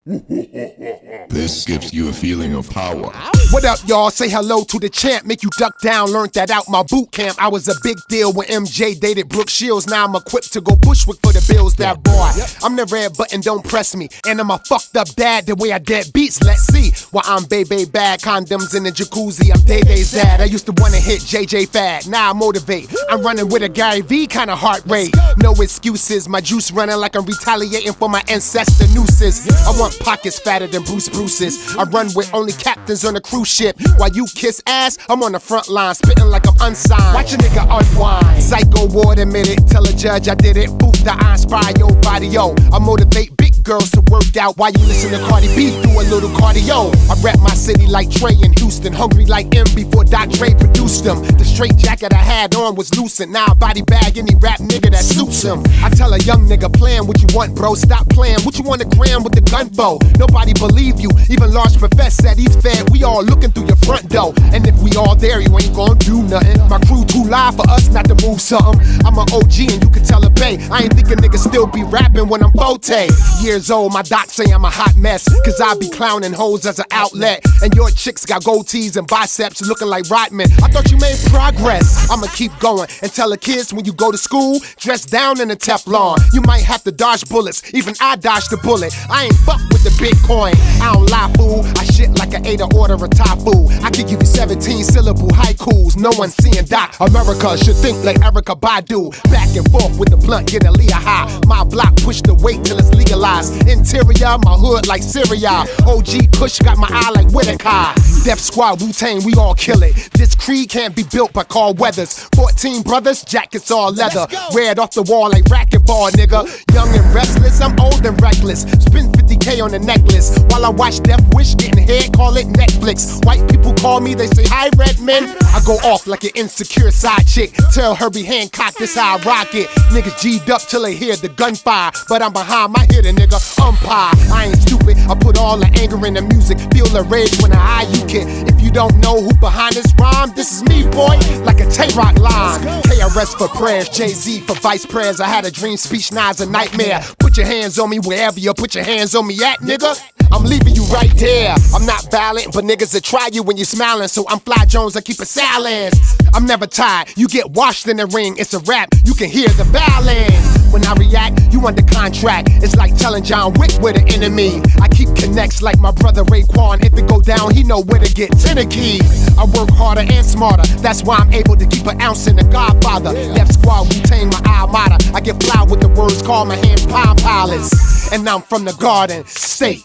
This gives you a feeling of power. What up, y'all? Say hello to the champ. Make you duck down. Learned that out my boot camp. I was a big deal when MJ dated Brooke Shields. Now I'm equipped to go Bushwick for the Bills. That boy, I'm the red button, don't press me. And I'm a fucked up dad the way I dead beats. Let's see. While I'm baby bad, condoms in the jacuzzi. I'm Day-Day's dad. I used to wanna hit JJ Fad. Now I motivate. I'm running with a Gary V kind of heart rate. No excuses. My juice running like I'm retaliating for my ancestor nooses. I want pockets fatter than Bruce's. I run with only captains on a cruise ship. While you kiss ass, I'm on the front line, spitting like I'm unsigned. Watch a nigga unwind. Psycho ward admitted. Tell a judge I did it. Boot the I inspire your body, yo. I motivate big girls to work out while you listen to Cardi B. Do a little cardio. I rap my city like Trey in Houston. Hungry like M before Doc Dre produced them. The straight jacket I had on was loosened. Now I body bag any rap nigga that suits him. I tell a young nigga, plan what you want, bro. Stop playing. What you want to gram with the gun for? Nobody believe you. Even Large Professor said he's fed. We all looking through your front door. And if we all there, you ain't gonna do nothing. My crew too live for us not to move something. I'm an OG and you can tell a bay. I ain't thinking niggas still be rapping when I'm 40 years old. My doc say I'm a hot mess. Cause I be clowning hoes as an outlet. And your chicks got goatees and biceps looking like Rodman. I thought you made progress. I'ma keep going and tell the kids when you go to school, dress down in a Teflon. You might have to dodge bullets. Even I dodged the bullet. I ain't fuck with the Bitcoin. I don't lie, fool. I shit like an Ada order of Tafu. I could give you 17 syllable haikus. No one seeing Doc. America should think like Erykah Badu. Back and forth with the blunt, get a Leah high. My block push the weight till it's legalized. Interior, my hood like Syria. OG Kush got my eye like Whitaker. Def Squad, Wu-Tang, we all kill it. This creed can't be built by Carl Weathers. 14 brothers, jackets all leather. Red off the wall like racquetball, nigga. Young and restless, I'm old and reckless. Spend 50K on a necklace. While I watch Death Wish getting head, call it Netflix. White people call me, they say, hi, Redman. I go off like an insecure side chick. Tell Herbie Hancock this how I rock it. Niggas G'd up till they hear the gunfire. But I'm behind my hit, a nigga umpire. I ain't stupid, I put all the anger in the music. Feel the rage when I eye you kid. If you don't know who behind this rhyme, this is me, boy, like a Tay-Rock line. KRS for prayers, Jay-Z for vice prayers. I had a dream speech, now it's a nightmare. Put your hands on me wherever you put your hands on me at, nigga. I'm leaving you right there. I'm not violent, but niggas that try you when you're smiling. So I'm Fly Jones, I keep it silent. I'm never tired, you get washed in the ring. It's a rap, you can hear the violence. When I react, you under contract. It's like telling John Wick we're the enemy. I keep connects like my brother Raekwon. If it go down, he know where to get Tennessee. I work harder and smarter. That's why I'm able to keep an ounce in the Godfather. Left Squad, Wu-Tang, my alma mater. I get fly with the words, call my hands Palm Pilots. And I'm from the Garden State.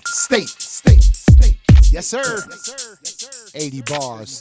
Yes, sir. 80 bars.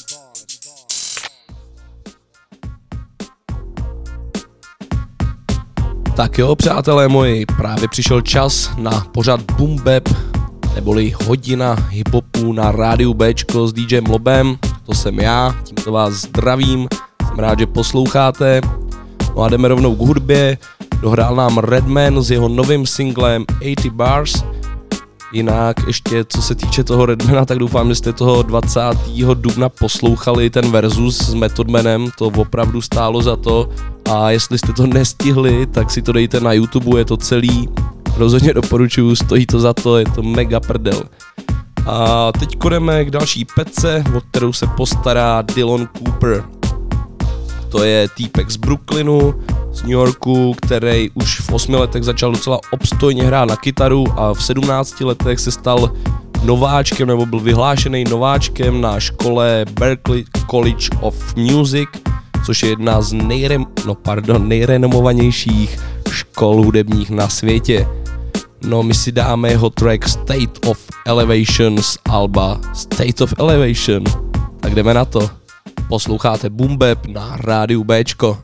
Tak jo, přátelé moji, právě přišel čas na pořad Boom Bap, neboli hodina hiphopu na rádiu Bčko s DJem Lobem. To jsem já, tímto vás zdravím, jsem rád, že posloucháte. No a jdeme rovnou k hudbě. Dohrál nám Redman s jeho novým singlem 80 Bars. Jinak ještě co se týče toho Redmana, tak doufám, že jste toho 20. dubna poslouchali ten versus s Method Manem, to opravdu stálo za to. A jestli jste to nestihli, tak si to dejte na YouTube, je to celý. Rozhodně doporučuju, stojí to za to, je to mega prdel. A teď jdeme k další pece, o kterou se postará Dylan Cooper. To je týpek z Brooklynu, z New Yorku, který už v 8 letech začal docela obstojně hrát na kytaru a v 17 letech se stal nováčkem, nebo byl vyhlášený nováčkem na škole Berklee College of Music, což je jedna z nejrenomovanějších škol hudebních na světě. No, my si dáme jeho track State of Elevation z alba State of Elevation. Tak jdeme na to. Posloucháte Boom Bap na rádiu Bčko.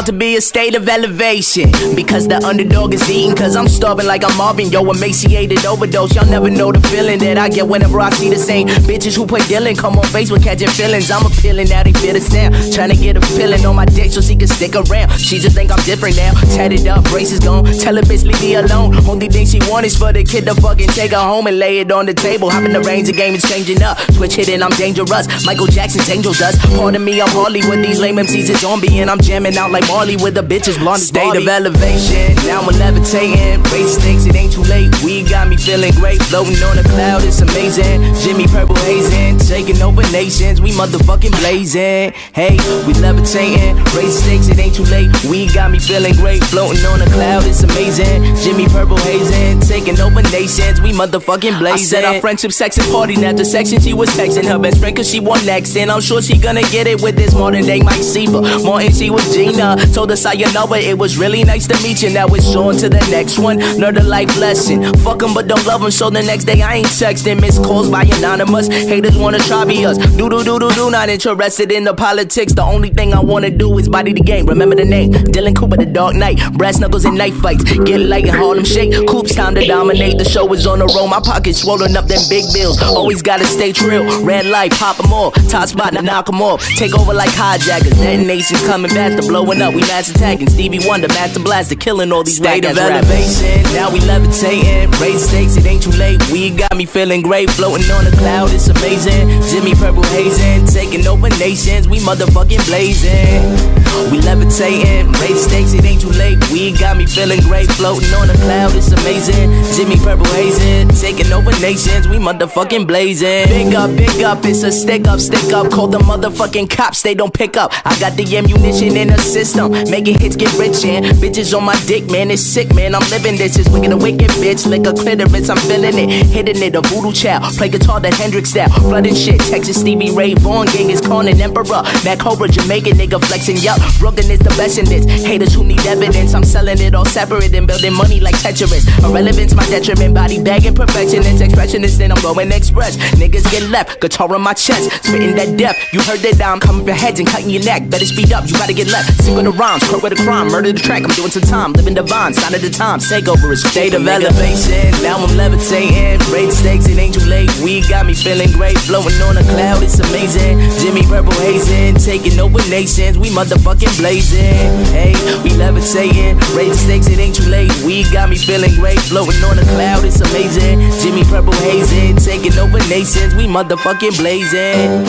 to be a state of elevation. Because the underdog is eating, cause I'm starving like I'm Marvin. Yo, emaciated overdose. Y'all never know the feeling that I get whenever I see the same bitches who play Dylan come on Facebook catching feelings. I'm appealing, now they feel the snap. Trying to get a feeling on my dick so she can stick around. She just think I'm different now. Tatted up, braces gone. Tell her bitch leave me alone. Only thing she want is for the kid to fucking take her home and lay it on the table. Hop in the range, the game is changing up. Switch hitting, I'm dangerous. Michael Jackson's angel dust. Pardon me, I'm Harley with these lame MCs, it's zombie. And I'm jamming out like Marley with the bitches blonde. State of elevation, now I'm levitating. Race stakes, it ain't too late. We got me feeling great. Floating on a cloud, it's amazing. Jimmy Purple hazing, taking over nations. We motherfucking blazing. Hey, we levitating. Race stakes, it ain't too late. We got me feeling great. Floating on a cloud, it's amazing. Jimmy Purple hazing, taking over nations. We motherfucking blazing. I said our friendship, sex, and party. After section, she was texting her best friend cause she won next. And I'm sure she gonna get it with this modern day Mike Seaver. Martin, she was Gina. Told her sayonara, it was really nice to meet you. Now it's on to the next one. Learn a life lesson. Fuck them but don't love them. So the next day I ain't texting. Missed calls by anonymous. Haters wanna try me us. Do, not interested in the politics. The only thing I wanna do is body the game. Remember the name. Dylan Cooper, the Dark Knight. Brass knuckles and knife fights. Get light and Harlem shake. Coops time to dominate. The show is on the road. My pockets swollen up them big bills. Always gotta stay trill. Red light, pop them off. Top spot to knock them off. Take over like hijackers. Detonations coming faster. Blowing up, we mass attacking. Stevie Wonder, Master Blaster, killing all these state of elevation. Now we levitating. Raise stakes, it ain't too late. We got me feeling great. Floating on a cloud, it's amazing. Jimmy Purple hazing, taking over nations. We motherfucking blazing. We levitating. Raise stakes, it ain't too late. We got me feeling great. Floating on a cloud, it's amazing. Jimmy Purple hazing, taking over nations. We motherfucking blazing. Big up, it's a stick up. Call the motherfucking cops, they don't pick up. I got the ammunition in the system, making hits get rich and bitches on my dick, man, it's sick, man. I'm living this, it's wicked a wicked bitch, lick a clitoris, I'm feeling it, hitting it, a voodoo child, play guitar that Hendrix style, flooding shit, Texas Stevie Ray Vaughan, gang is Conan Emperor, Mac Cobra, Jamaican nigga flexing, yup, Brooklyn is the best in this, haters who need evidence, I'm selling it all separate and building money like Tetris, irrelevance my detriment, body bagging perfectionist, expressionist, then I'm going express, niggas get left, guitar on my chest, spitting that death, you heard that I'm coming for heads and cutting your neck, better speed up, you gotta get left, sing with the rhymes, quote with the crime, murder the track, I'm doing some time, living divine, sign of the times, take over, it's state of elevation, now I'm levitating, raise stakes, it ain't too late, we got me feeling great, floating on a cloud, it's amazing, Jimmy Purple hazing, taking over nations, we motherfucking blazing, hey, we levitating, raise stakes, it ain't too late, we got me feeling great, floating on a cloud, it's amazing, Jimmy Purple hazing, taking over nations, we motherfucking blazing,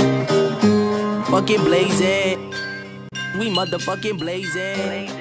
fucking blazing, we motherfucking blazing.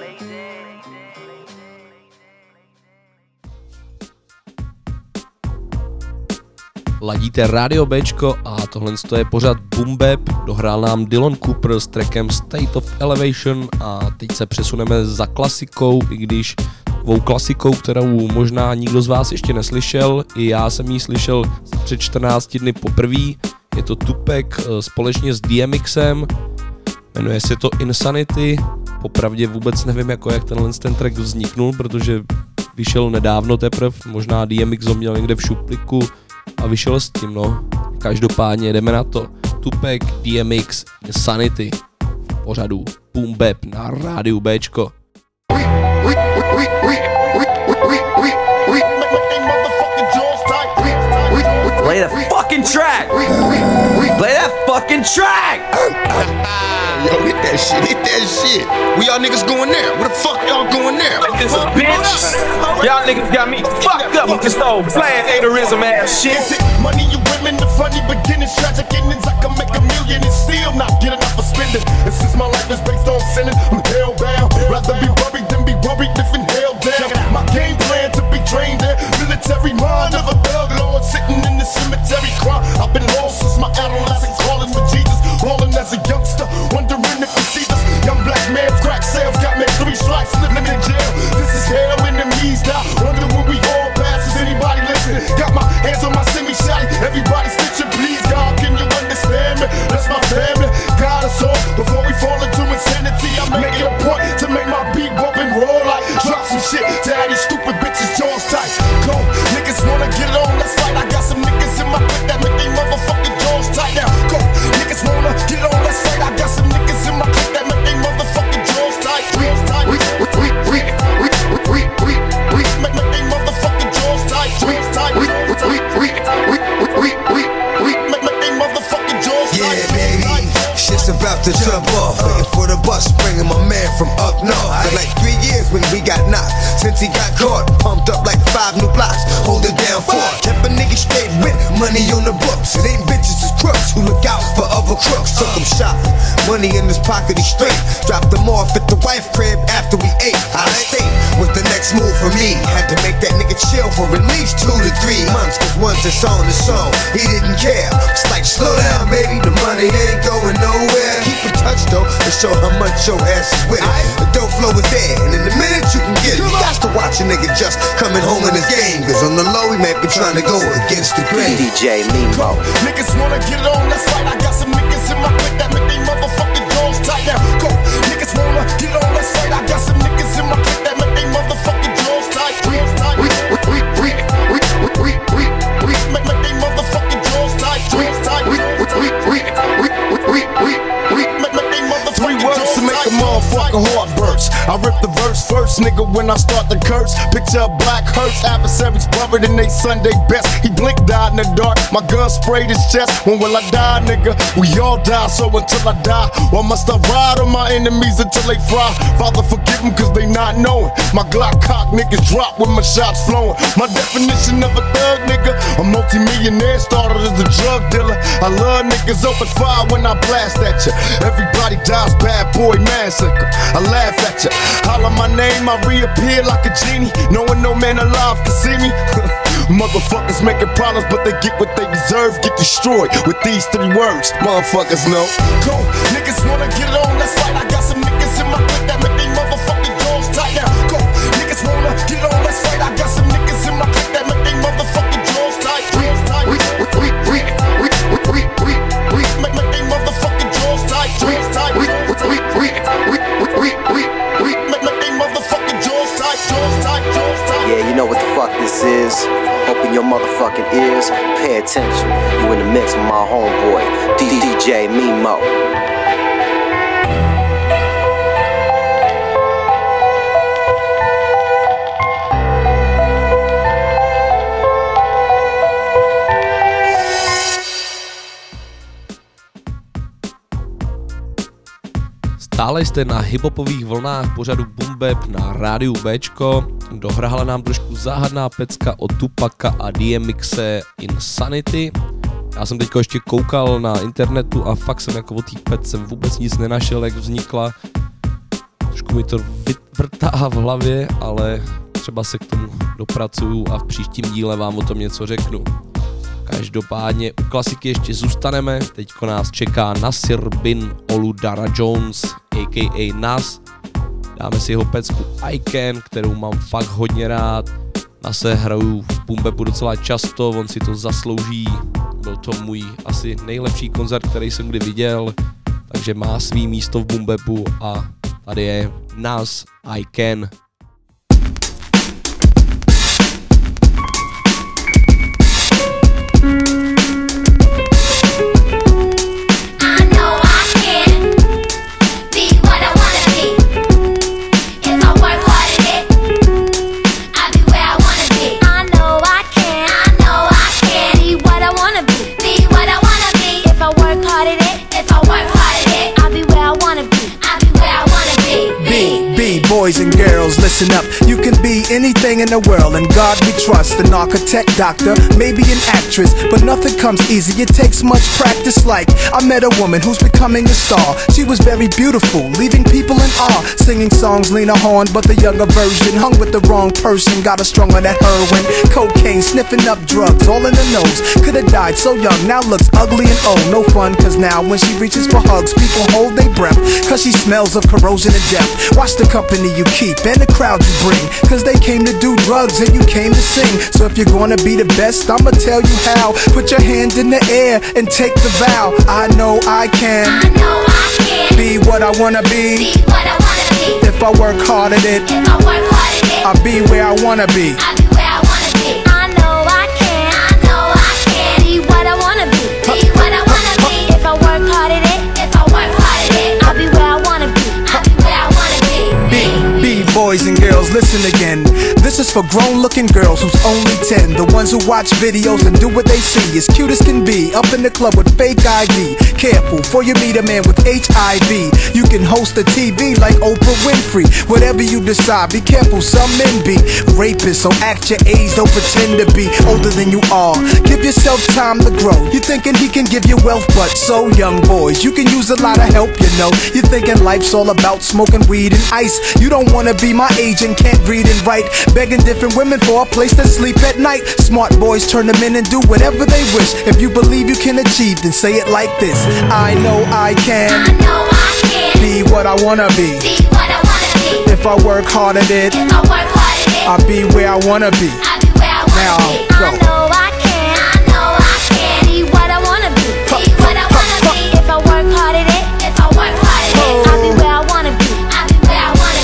Ladíte Radio Bčko a tohle je pořad Boom Bap. Dohrál nám Dylan Cooper s trackem State of Elevation a teď se přesuneme za klasikou, i když takovou klasikou, kterou možná nikdo z vás ještě neslyšel. I já jsem ji slyšel před 14 dny poprvé. Je to Tupac společně s DMXem. Jmenuje se to Insanity. Popravdě vůbec nevím, jak ten track vzniknul, protože vyšel nedávno teprve. Možná DMX ho měl někde v šupliku a vyšel s tím, no. Každopádně jdeme na to. Tupac, DMX, Insanity v pořadu Boom Bap na rádiu Bčko. Play that fucking track! Play that fucking track! Yo, hit that shit. We y'all niggas going there. Where the fuck y'all going there? This a bitch! Y'all niggas got me fucked up with this old bland haterism ass shit. Money, you women, the funny beginnings, tragic endings. I can make $1 million and still not get enough for spending. And since my life is based on sinning, I'm hellbound. Rather be worried than be worried if in hell down. My game plan to be trained in military mind of a thug lord sitting in the cemetery crying. I've been lost since my adolescence, calling for Jesus, rolling as a youngster, wondering if you see this young black man's crack sales got me 3 strikes, living in jail. This is hell in the knees now. Wonder when we all pass. Is anybody listening? Got my hands on my semi-shotty. Everybody stitching, please, God, can you understand me? That's my family. God us all before we fall into insanity. I make it a point to make my beat bump and roll like drop some shit to have these stupid bitches jaws tight. Go, niggas wanna get on, let's fight. I got some niggas in my clip that make they motherfucking jaws tight now. Go, niggas wanna get on, let's fight. I got some niggas in my clip that make they motherfucking jaws tight. when we got knocked. Since he got caught, pumped up like 5 new blocks. Hold it down for it. Kept a nigga straight with money on the books. It ain't bitches, it's crooks who look out for other crooks. Took him shopping, money in his pocket, he straight. Dropped him off at the wife crib after we ate. Out of state was the next move for me. Had to make that nigga chill for at least 2 to 3 months. Cause once it's on the song, he didn't care. It's like, slow down, baby, the money ain't going nowhere. Keep in touch though, to show how much your ass is with it. The dope flow is there, and in a minute you can get it. You got to watch a nigga just coming home in his game. Cause on the low, he might be trying to go against the grain. DJ Mimo. Niggas wanna get it on, that's right. I got some niggas in my clique that make they motherfucking jaws tight. Now go, niggas wanna get it on, that's right. I got some niggas in my clique that make they motherfucking jaws tight. Make they motherfucking jaws tight. Three words to make a motherfucker heart burst. I rip the verse first, nigga, when I start to curse. Picture a black hearse, adversaries buried in they Sunday best. He blinked, died in the dark, my gun sprayed his chest. When will I die, nigga? We all die, so until I die, why must I ride on my enemies until they fry? Father, forgive them cause they not knowing. My Glock cock niggas drop when my shots flowing. My definition of a thug, nigga, a multi-millionaire started as a drug dealer. I love niggas open fire when I blast at ya. Everybody dies, bad boy massacre. I laugh at ya. Holler my name, I reappear like a genie. Knowing no man alive can see me. Motherfuckers making problems, but they get what they deserve. Get destroyed with these 3 words. Motherfuckers know. Go, niggas wanna get it on, that's right. I got some niggas in my clique that make they motherfucking jaws tight. Now go, niggas wanna get it on, that's right. I got some niggas in my clique that make they motherfucking jaws tight. Make they motherfucking jaws tight. Yeah, you know what the fuck this is. Open your motherfucking ears, pay attention. You in the mix with my homeboy, DJ Mimo. Stále jste na hiphopových vlnách pořadu Boom Bap na rádiu Bčko. Dohrála nám trošku záhadná pecka od Tupaka a DMXe Insanity. Já jsem teďko ještě koukal na internetu a fakt jsem jako o té pecce vůbec nic nenašel, jak vznikla. Trošku mi to vyvrtá v hlavě, ale třeba se k tomu dopracuju a v příštím díle vám o tom něco řeknu. Každopádně u klasiky ještě zůstaneme, teďko nás čeká Nasir bin Oludara Jones, a.k.a. Nas. Dáme si jeho pecku I Can, kterou mám fakt hodně rád. Nase hraju v Boom Bapu docela často, on si to zaslouží. Byl to můj asi nejlepší koncert, který jsem kdy viděl, takže má svý místo v Boom Bapu a tady je Nas I Can. Boys and girls, listen up. You can be anything in the world, and God we trust. An architect, doctor, maybe an actress, but nothing comes easy. It takes much practice. Like I met a woman who's becoming a star. She was very beautiful, leaving people in awe. Singing songs, Lena Horne, but the younger version. Hung with the wrong person, got her strung on that heroin, cocaine, sniffing up drugs, all in the nose. Could've died so young, now looks ugly and old. No fun, cause now when she reaches for hugs, people hold their breath, cause she smells of corrosion and death. Watch the company you keep and the crowd you bring, cause they came to do drugs and you came to sing. So if you're gonna be the best, I'ma tell you how. Put your hand in the air and take the vow. I know I can, I know I can be what I wanna be, what I wanna be. If I work hard at it, If I work hard at it, I'll be where I wanna be. I'll be where I wanna be. I know I can, I know I can be what I wanna be, what I wanna be. If I work hard at it, if I work hard at it, I'll be where I wanna be, I'll be where I wanna be. B-boys boys and girls, listen again. This is for grown-looking girls who's only 10. The ones who watch videos and do what they see. As cute as can be, up in the club with fake ID. Careful, before you meet a man with HIV. You can host a TV like Oprah Winfrey. Whatever you decide, be careful, some men be rapists. So act your age, don't pretend to be older than you are. Give yourself time to grow. You thinking he can give you wealth, but so young boys, you can use a lot of help, you know. You thinking life's all about smoking weed and ice. You don't wanna be my age and can't read and write. Begging different women for a place to sleep at night. Smart boys turn them in and do whatever they wish. If you believe you can achieve, then say it like this: I know I can. I know I can be what I wanna be. Be what I wanna be. If I work hard at it, If I work hard at it, I'll be where I wanna be. I'll be where I wanna Now, be. go. I know I can. I know I can be what I wanna be. Be what I wanna be. If I work hard at it, if I work hard at it, I'll be where I wanna be. I'll be where I wanna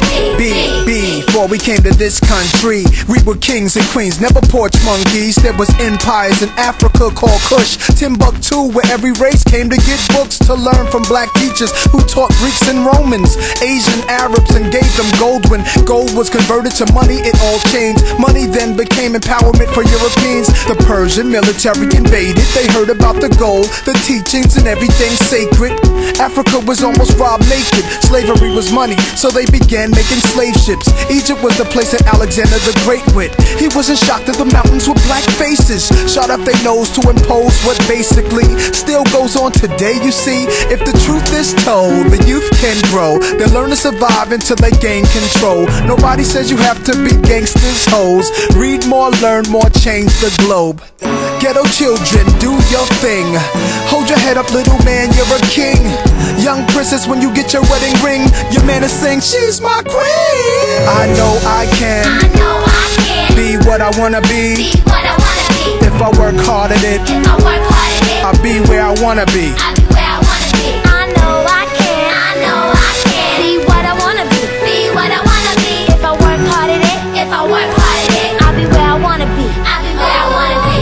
be. Before we came to this country, we were kings and queens, never porch monkeys. There was empires in Africa called Kush, Timbuktu, where every race came to get books to learn from black teachers who taught Greeks and Romans, Asian Arabs, and gave them gold. When gold was converted to money, it all changed. Money then became empowerment for Europeans. The Persian military invaded. They heard about the gold, the teachings, and everything sacred. Africa was almost robbed naked. Slavery was money, so they began making slave ships. Egypt was the place that Alexander the Great went. He wasn't shocked that the mountains were black faces, shot up their nose to impose what basically still goes on today. You see, if the truth is told, the youth can grow. They learn to survive until they gain control. Nobody says you have to be gangsters, hoes. Read more, learn more, change the globe. Ghetto children, do your thing. Hold your head up, little man, you're a king. Young princess, when you get your wedding ring, your man is saying, she's my queen. I know I can. I know I can be what I wanna be. Be what I wanna be. If I work hard at it, If I work hard at it, I'll be where I wanna be. I'll be where I wanna be. I know I can. I know I can be what I wanna be. Be what I wanna be. If I work hard at it, if I work hard at it, I'll be where I wanna be. I'll be where I wanna be.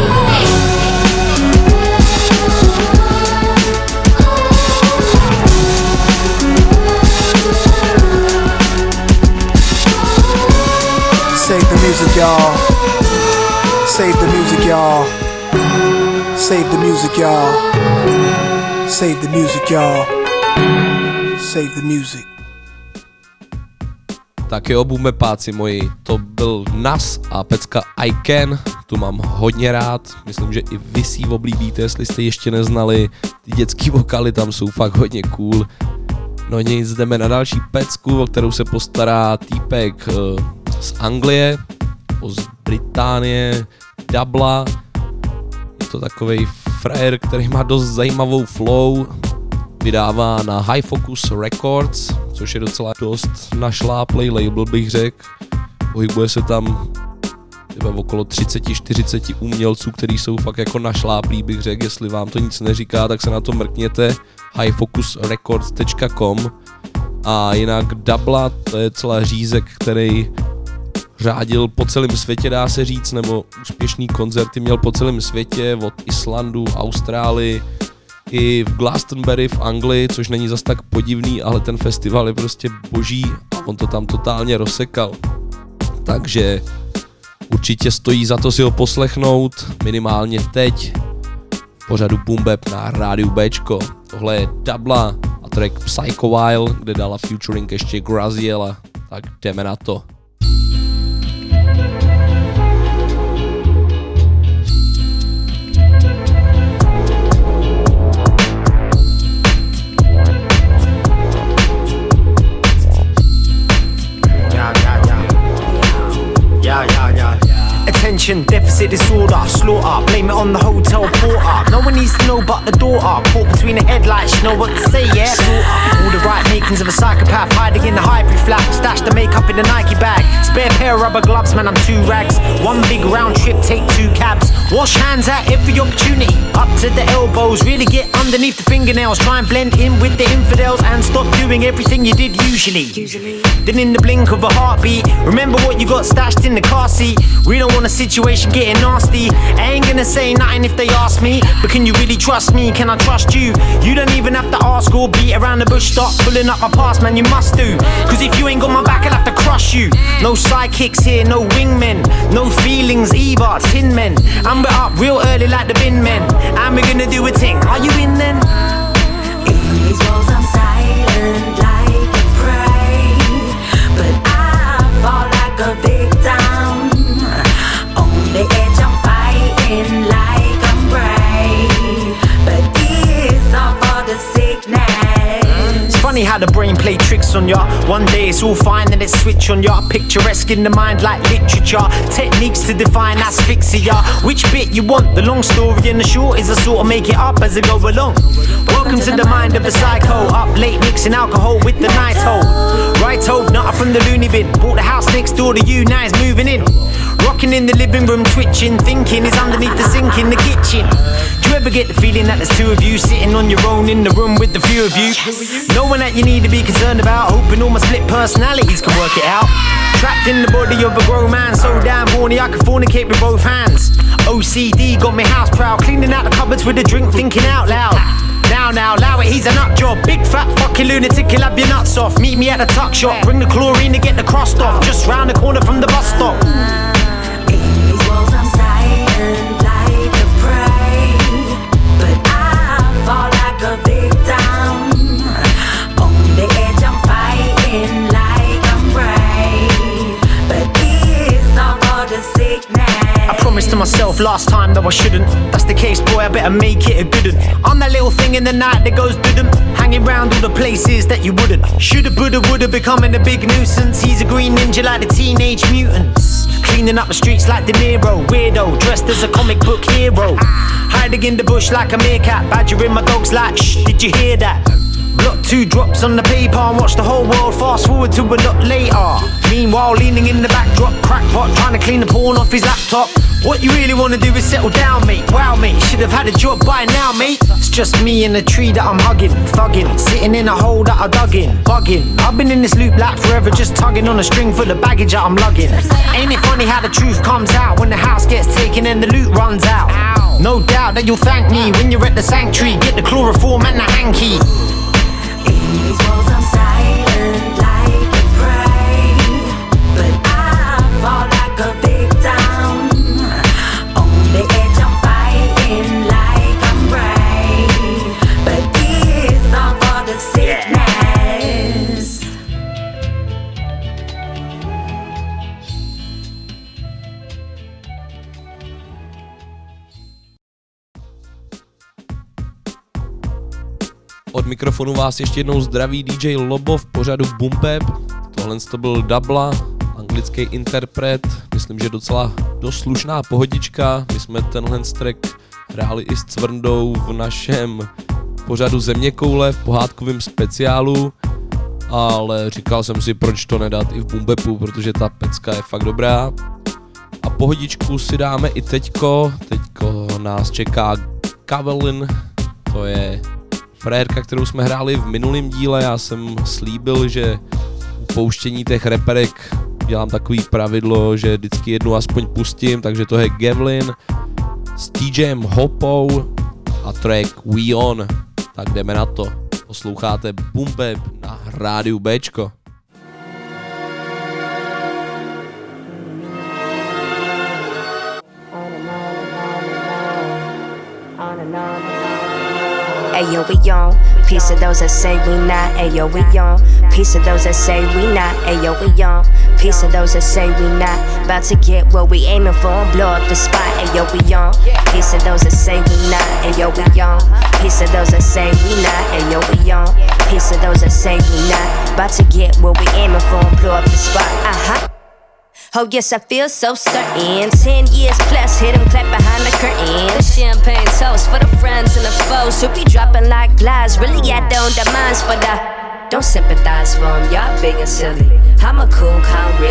Save the music, y'all. Save the music, y'all. Save the music, y'all. Save the music, y'all. Save the music. Tak jo, boomepáci moji, to byl Nas a pecka I Can, tu mám hodně rád, myslím, že i vy si oblíbíte, jestli jste ještě neznali, ty dětský vokály tam jsou fakt hodně cool. No nic, jdeme na další pecku, o kterou se postará týpek z Anglie, z Británie, Dubla. Je to takovej frajer, který má dost zajímavou flow, vydává na High Focus Records, což je docela dost našláplej label, bych řekl. Pohybuje se tam okolo 30-40 umělců, kteří jsou fakt jako našláplí, bych řekl. Jestli vám to nic neříká, tak se na to mrkněte, highfocusrecords.com. A jinak Dubla, to je celá řízek, který řádil po celém světě, dá se říct, nebo úspěšný koncerty měl po celém světě, od Islandu, Austrálii, i v Glastonbury v Anglii, což není zas tak podivný, ale ten festival je prostě boží a on to tam totálně rozsekal. Takže určitě stojí za to si ho poslechnout, minimálně teď, v pořadu Boom Bap na rádiu Bčko. Tohle je Dubla a track Psycho While, kde dala featuring ještě Graziella, tak jdeme na to. Attention, deficit disorder, slaughter, blame it on the hotel porter. No one needs to know but the daughter, caught between the headlights, you know what to say, yeah? Slaughter. All the right makings of a psychopath, hiding in the hybrid flat, stash the makeup in the Nike bag. Spare pair of rubber gloves, man, I'm 2 rags. One big round trip, take 2 cabs. Wash hands at every opportunity. Up to the elbows, really get underneath the fingernails. Try and blend in with the infidels and stop doing everything you did usually. Then in the blink of a heartbeat, remember what you got stashed in the car seat. We don't want a situation getting nasty. I ain't gonna say nothing if they ask me, but can you really trust me? Can I trust you? You don't even have to ask or beat around the bush. Start pulling up my past, man, you must do. Cause if you ain't got my back, I'll have to crush you. No sidekicks here, no wingmen. No feelings either, tin men. And we're up real early like the bin men. And we're gonna do a thing, are you in then? In these walls I'm silent like a prey, but I fall like a victim. On the edge I'm fighting like I'm brave, but it's all for the sickness. It's funny how the brain play tricks on ya. One day it's all fine, then it switch on ya. Picturesque in the mind like literature. Techniques to define asphyxia. Which bit you want? The long story and the short is I sort of make it up as I go along. Welcome to the mind of a psycho. Up late mixing alcohol with the night hold. Right hold, not from the loony bin. Bought the house next door to you, now it's moving in. Rocking in the living room, twitching. Thinking is underneath the sink in the kitchen. Do you ever get the feeling that there's 2 of you sitting on your own in the room with the few of you? No one that you need to be concerned about. Hoping all my split personalities can work it out. Trapped in the body of a grown man, so damn horny I can fornicate with both hands. OCD got me house proud, cleaning out the cupboards with a drink, thinking out loud. Now, allow it, he's a nut job. Big fat fucking lunatic, he'll have your nuts off. Meet me at the tuck shop, bring the chlorine to get the crust off. Just round the corner from the bus stop. In these walls I'm silent like a prey, but I fall like a victim. On the edge I'm fighting like I'm brave, but it's all for the sickness. I promised to myself last time that I shouldn't. That's the case, boy, I better make it a good one. I'm that little thing in the night that goes doo-dum, hanging round all the places that you wouldn't. Shoulda, woulda, woulda, becoming a big nuisance. He's a green ninja like the Teenage Mutants. Cleaning up the streets like De Niro. Weirdo, dressed as a comic book hero. Hiding in the bush like a meerkat. Badgering my dogs like, shh, did you hear that? Block 2 drops on the paper and watch the whole world fast forward to a lot later. Meanwhile, leaning in the backdrop, crackpot trying to clean the porn off his laptop. What you really wanna do is settle down, mate. Wow, mate, should have had a job by now, mate. It's just me in a tree that I'm hugging, thugging, sitting in a hole that I dug in, bugging. I've been in this loop like forever, just tugging on a string for the baggage that I'm lugging. Ain't it funny how the truth comes out when the house gets taken and the loot runs out? No doubt that you'll thank me when you're at the sanctuary. Get the chloroform and the hanky. In these walls I'm silent like a prey, but I fall like a victim. On the edge I'm fighting like I'm brave, but it's all for the sickness. Od mikrofonu vás ještě jednou zdraví DJ Lobo v pořadu Boom Bap. Tohle to byl Dubla, anglický interpret, myslím, že docela dost slušná pohodička. My jsme tenhle track hráli i s Cvrndou v našem pořadu Zeměkoule v pohádkovém speciálu, ale říkal jsem si, proč to nedat i v Boom Bapu, protože ta pecka je fakt dobrá. A pohodičku si dáme i teďko nás čeká Kavelin, to je frérka, kterou jsme hráli v minulém díle. Já jsem slíbil, že u pouštění těch reperek dělám takový pravidlo, že vždycky jednu aspoň pustím, takže to je Gavlin s TJem Hopou a track We On. Tak jdeme na to. Posloucháte Boom Bap na rádiu Bčko. Ayo, we on. Piece of those that say we not. Ayo, we on. Piece of those that say we not. Ayo, we on. Piece of those that say we not. About to get what we aiming for and blow up the spot. Ayo, we on. Piece of those that say we not. Ayo, we on. Piece of those that say we not. Ayo, we on. Piece of those that say we not. About to get what we aiming for and blow up the spot. Oh yes, I feel so certain. 10 years plus, hit 'em clap behind the curtain. Champagne toast for the friends and the foes who be dropping like flies. Really, I don't demands, but I don't sympathize for 'em. Y'all big and silly. I'm a cool, calm, real bitch.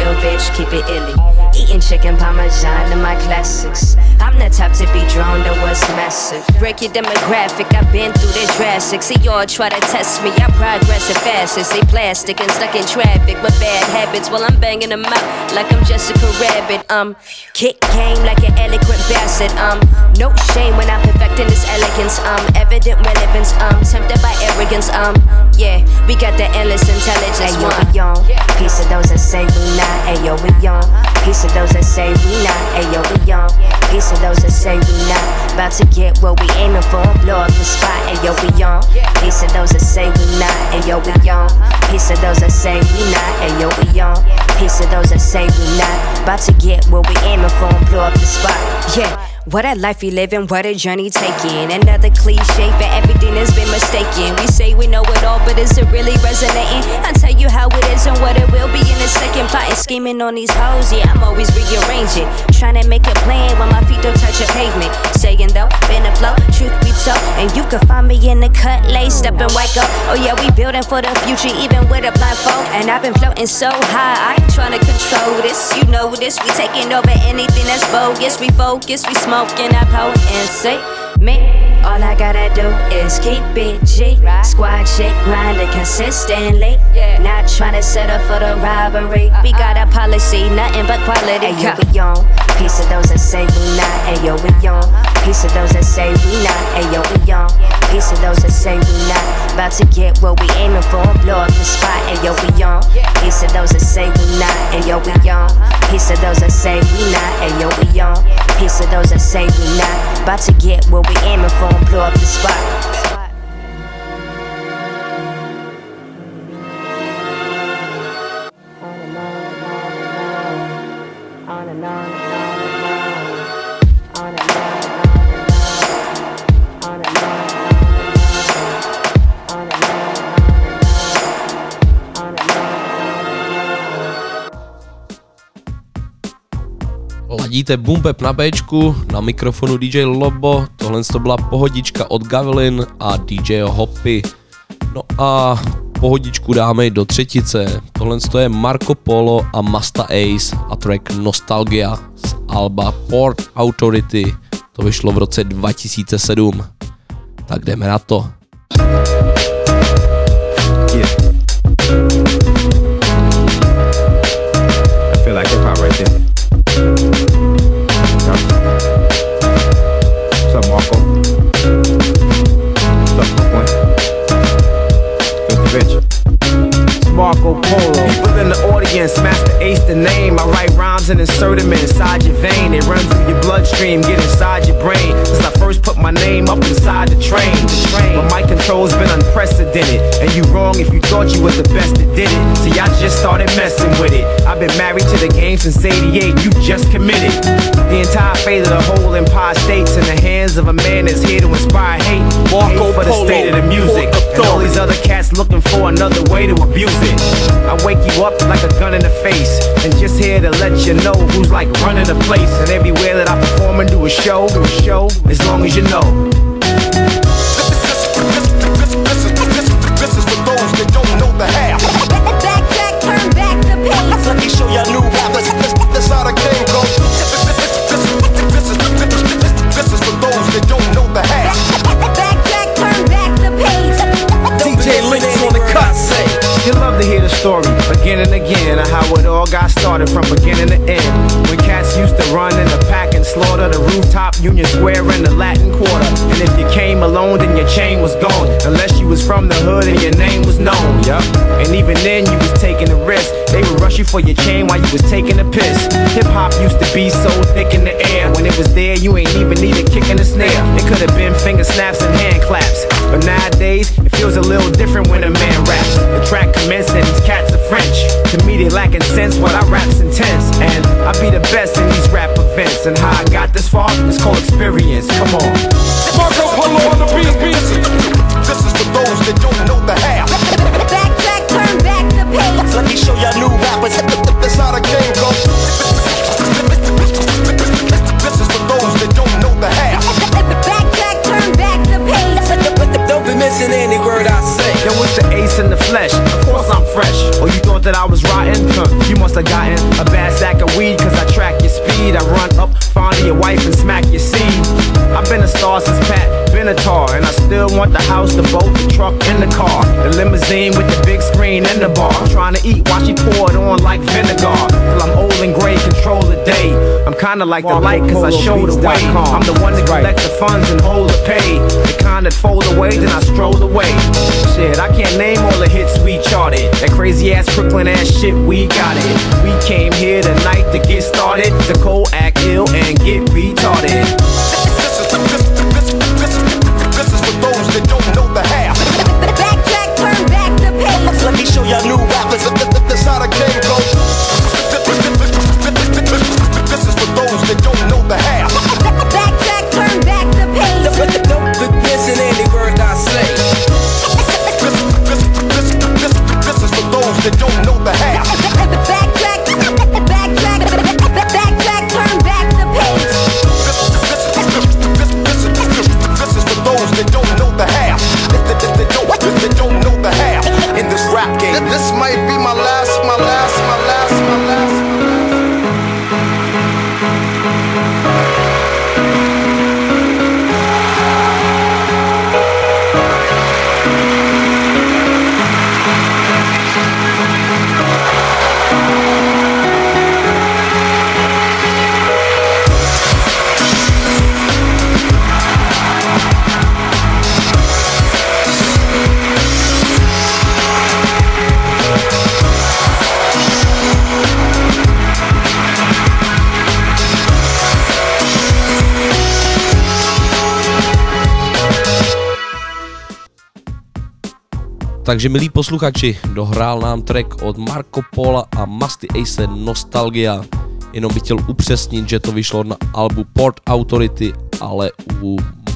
bitch, keep it illy. Eating chicken parmesan in my classics. I'm the type to be drawn to what's massive. Break your demographic, I've been through the drastic. See y'all try to test me, I progress as fast as they plastic and stuck in traffic with bad habits while I'm banging them out like I'm Jessica Rabbit. Kick game like an eloquent bastard. No shame when I'm perfecting this elegance. Evident relevance. Tempted by arrogance. Yeah, we got the endless intelligence. Ayo, we on. Piece of those that say we not. Ayo, we on. Piece of those that say we not. Ayo, we on. Piece of those that say we not. About to get what we aiming for. Blow up the spot. Ayo, we on. Piece of those that say we not. Ayo, we on. Piece of those that say we not. Ayo, we on. Piece of those that say we not. About to get what we aiming for. Blow up the spot. Yeah. What a life we living, what a journey taking. Another cliche for everything that's been mistaken. We say we know it all, but is it really resonating? I'll tell you how it is and what it will be in a second. Plotting, scheming on these hoes, yeah, I'm always rearranging. Trying to make a plan when my feet don't touch a pavement. Saying though, been a flow, truth be told. And you can find me in the cut, laced up and white gold. Oh yeah, we building for the future, even with a blindfold. And I've been floating so high, I ain't trying to control this. You know this, we taking over anything that's bogus. We focus, we smoking our potency. Me, all I gotta do is keep it G. Squad shit grinding consistently. Not trying to settle for the robbery. We got a policy, nothing but quality. Ayo, we on. Piece of those that say we not. Ayo, we on. Piece of those that say we not. Ayo, we on. Piece of those that say we not. About to get what we aiming for. Blow up the spot. Ayo, we on. Piece of those that say we not. Ayo, we on. Piece of those that say we not. Ayo, we on. Piece of those that say we not. About to get what we aiming for and blow up the spot. Ladíte Boom Bap na Bčku, na mikrofonu DJ Lobo, tohle to byla pohodička od Gavelin a DJ Hoppy. No a pohodičku dáme i do třetice, tohle je Marco Polo a Masta Ace a track Nostalgia z alba Port Authority, to vyšlo v roce 2007. Tak jdeme na to. Yeah. I feel like hip hop right there. What's up, Marco? What's up, Brooklyn? Filthy Rich. It's Marco Polo. People in the audience, Master Ace the name. I write rhymes and insert them inside your vein. They run through your bloodstream, get inside your brain. Since I first put my name up inside the train. My mic control's been unprecedented. And you wrong if you thought you was the best that did it. See, I just started messing with it. I've been married to the game since '88. You just committed. The entire fate of the whole Empire State's in the hands of a man that's here to inspire hate. Hate for the state of the music. And all these other cats looking for another way to abuse it. I wake you up like a gun in the face. And just here to let you know who's like running the place. And everywhere that I perform and do a show, as long as you know. This is for those that don't know the half. Backtrack, turn back the page. Let me show y'all new rappers. That's how the game goes. This is for those that don't know the half. Backtrack, turn back the page. DJ Links on the cut, say. You love to hear the story again and again of how it all got started from beginning to end. When cats used to run in the pack and slaughter the rooftop, Union Square, and the Latin Quarter. And if you came alone, then your chain was gone. Unless you was from the hood and your name was known. Yup. And even then, you was taking a risk. They would rush you for your chain while you was taking a piss. Hip hop used to be so thick in the air. When it was there, you ain't even need a kick in the snare. It could have been finger snaps and hand claps. But nowadays, it feels a little different when a man raps. The track commenced and these cats are French. To me, they lacking sense, but I rap's intense. And I be the best in these rap events. And how I got this far, it's called experience. Come on. Marco Polo on the beat. This is for those that don't know the half. Backtrack, turn back the page. Let me show y'all new rappers. That's how the game goes. This is for those that don't know the half. Backtrack, turn back the page. Don't be missing any word I say. Yo, it's the Ace in the flesh. Of course I'm fresh. Or you thought that I was rotten? You must have gotten A bad sack of weed cause I track your speed. I run up, find your wife and smack your seed. I've been a star since Pat, been a tar. And I still want the house, the boat, the truck and the car. The limousine with the big screen and the bar. I'm trying to eat while she pour it on like vinegar. Till I'm old and gray, control the day. I'm kinda like the light cause I show the way. I'm the one that collect the funds and hold the pay. The kind that fold away, then I stroll away. Shit, I can't name all the hits we charted. That crazy ass Brooklyn ass shit, we got it. We came here tonight to get started. To cold, act ill, and get retarded. This is for those that don't know the half. Backtrack, turn back the page. Let me show y'all new rappers. That's how the game goes. This is for those that don't know the half. Backtrack, turn back the page. Don't listen any word I say. This is for those that don't know the half. Backtrack, turn back the page. This is for those that don't know the half. That don't know the half in this rap game. This might be my last. Takže milí posluchači, dohrál nám track od Marco Pola a Musty Ace Nostalgia. Jenom bych chtěl upřesnit, že to vyšlo na albu Port Authority, ale u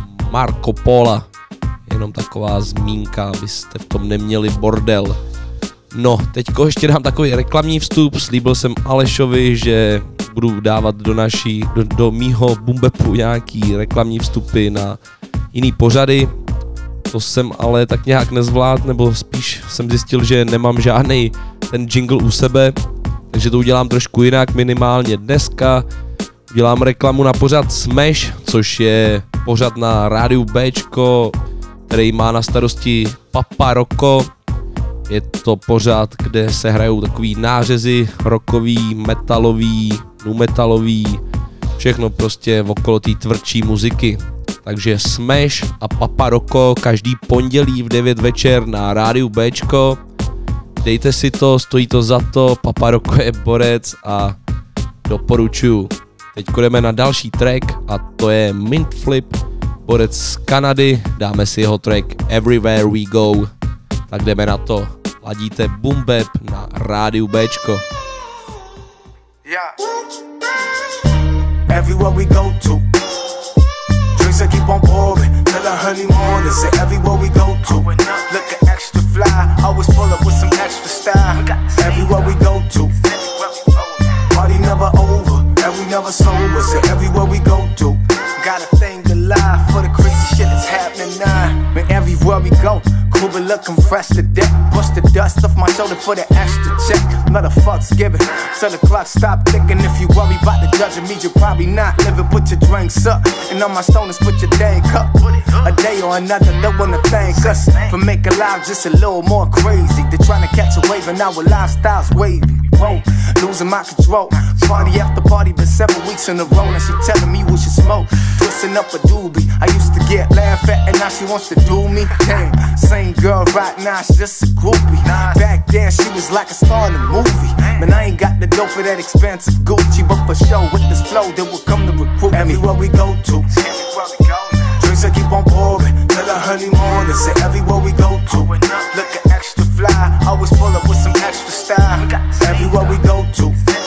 Marco Pola jenom taková zmínka, abyste v tom neměli bordel. No, teďko ještě dám takový reklamní vstup, slíbil jsem Alešovi, že budu dávat do mýho Bumbepu nějaký reklamní vstupy na jiný pořady. To jsem ale tak nějak nezvlád, nebo spíš jsem zjistil, že nemám žádnej ten jingle u sebe, takže to udělám trošku jinak, minimálně dneska. Dělám reklamu na pořad Smash, což je pořad na rádiu Bčko, který má na starosti Papa Rocco. Je to pořad, kde se hrajou takový nářezy rockový, metalový, nu metalový, všechno prostě okolo té tvrdší muziky. Takže Smash a Papa Rocco každý pondělí v 9 večer na rádiu Bčko. Dejte si to, stojí to za to, Papa Rocco je borec a doporučuju. Teď jdeme na další track a to je Mint Flip, borec z Kanady, dáme si jeho track Everywhere We Go. Tak jdeme na to, ladíte Boom Bap na rádiu Bčko. Yeah. Everywhere we go to, drinks I keep on pouring till the early morning. Say everywhere we go to, looking extra fly, always pull up with some extra style. Everywhere we go to, party never over, and we never sober. Say everywhere we go to, got a thing to lie for the crazy shit that's happening now. Man, everywhere we go, cool but looking fresh to death. Push the dust off my shoulder for the extra check. Not a fuck's given till the clock stop ticking. If you worry about the judging me, you're probably not living. Put your drinks up, and on my stoners put your dang cup. A day or another, don't wanna thank us for making life just a little more crazy. They're trying to catch a wave, and our lifestyle's wavy. Whoa, losing my control. Party after party, been 7 weeks in a row, and she telling me we should smoke. Twisting up a doobie. I used to get laughed at, and now she wants to do me. Damn, same girl right now, she's just a groupie. Back then, she was like a star in a movie. Man, I ain't got the dough for that expensive Gucci, but for sure, with this flow, they will come to recruit me. Everywhere we go to, drinks I keep on pouring till the early morning. Say everywhere we go to, looking extra fly, always pull up with some extra style. Everywhere we go to,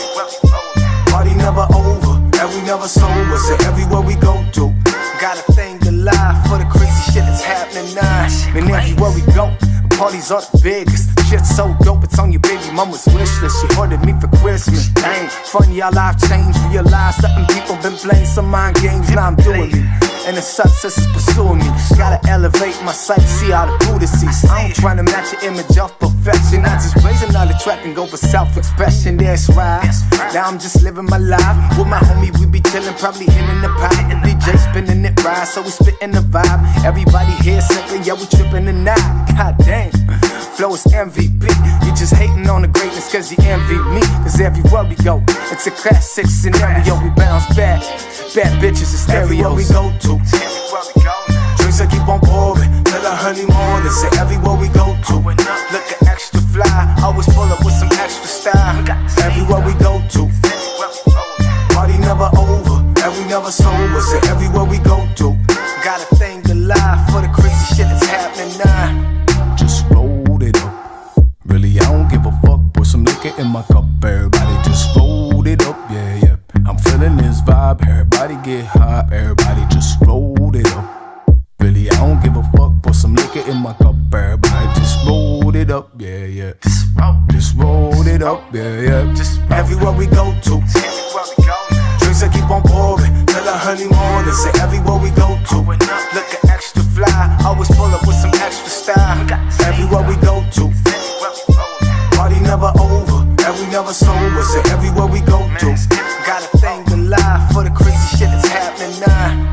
party never over, and we never sober. Say everywhere we go to, got a thing to lie for the crazy shit that's happening now. And everywhere we go, parties are the biggest. Shit's so dope, it's on your baby mama's wish list. She ordered me for Christmas. Dang, funny how life changed. Realize something people been playing some mind games. Now I'm doing me. and the success is pursuing me. Gotta elevate my sight, see how the Buddha sees. I ain't trying to match your image of perfection. I just raise another track and go for self-expression. That's right. Now I'm just living my life with my homie. We be chilling, probably hitting the pot. The DJ spinning it right, so we spitting the vibe. Everybody here simply, yeah, we tripping the night. God damn, flow is MVP. You just hating on the greatness cause you envy me. Cause everywhere we go, it's a classic scenario. We bounce back, bad bitches and stereos. Everywhere we go to, drinks I keep on pouring till the early morning. Say everywhere we go to, looking extra fly, always pull up with some extra style. Everywhere we go to, party never over, and we never sober. Say everywhere we go to, got a thing to lie for the crazy shit that's happening now. Just rolled it up. Really, I don't give a fuck. Put some liquor in my cup. Everybody just rolled it up. Yeah, yeah. I'm feeling this vibe. Everybody get high. Everybody just rolled it up. Really, I don't give a fuck. Put some liquor in my cup. Everybody just rolled it up. Yeah, yeah. Just rolled it up. Yeah, yeah. Just everywhere we go to, drinks I keep on pouring till the early morning. Say everywhere we go to, looking extra fly, always pull up with some extra style. Everywhere we go to, party never over, and we never sober. Say everywhere we go to, got a thing to lie for the crazy shit that's happening now.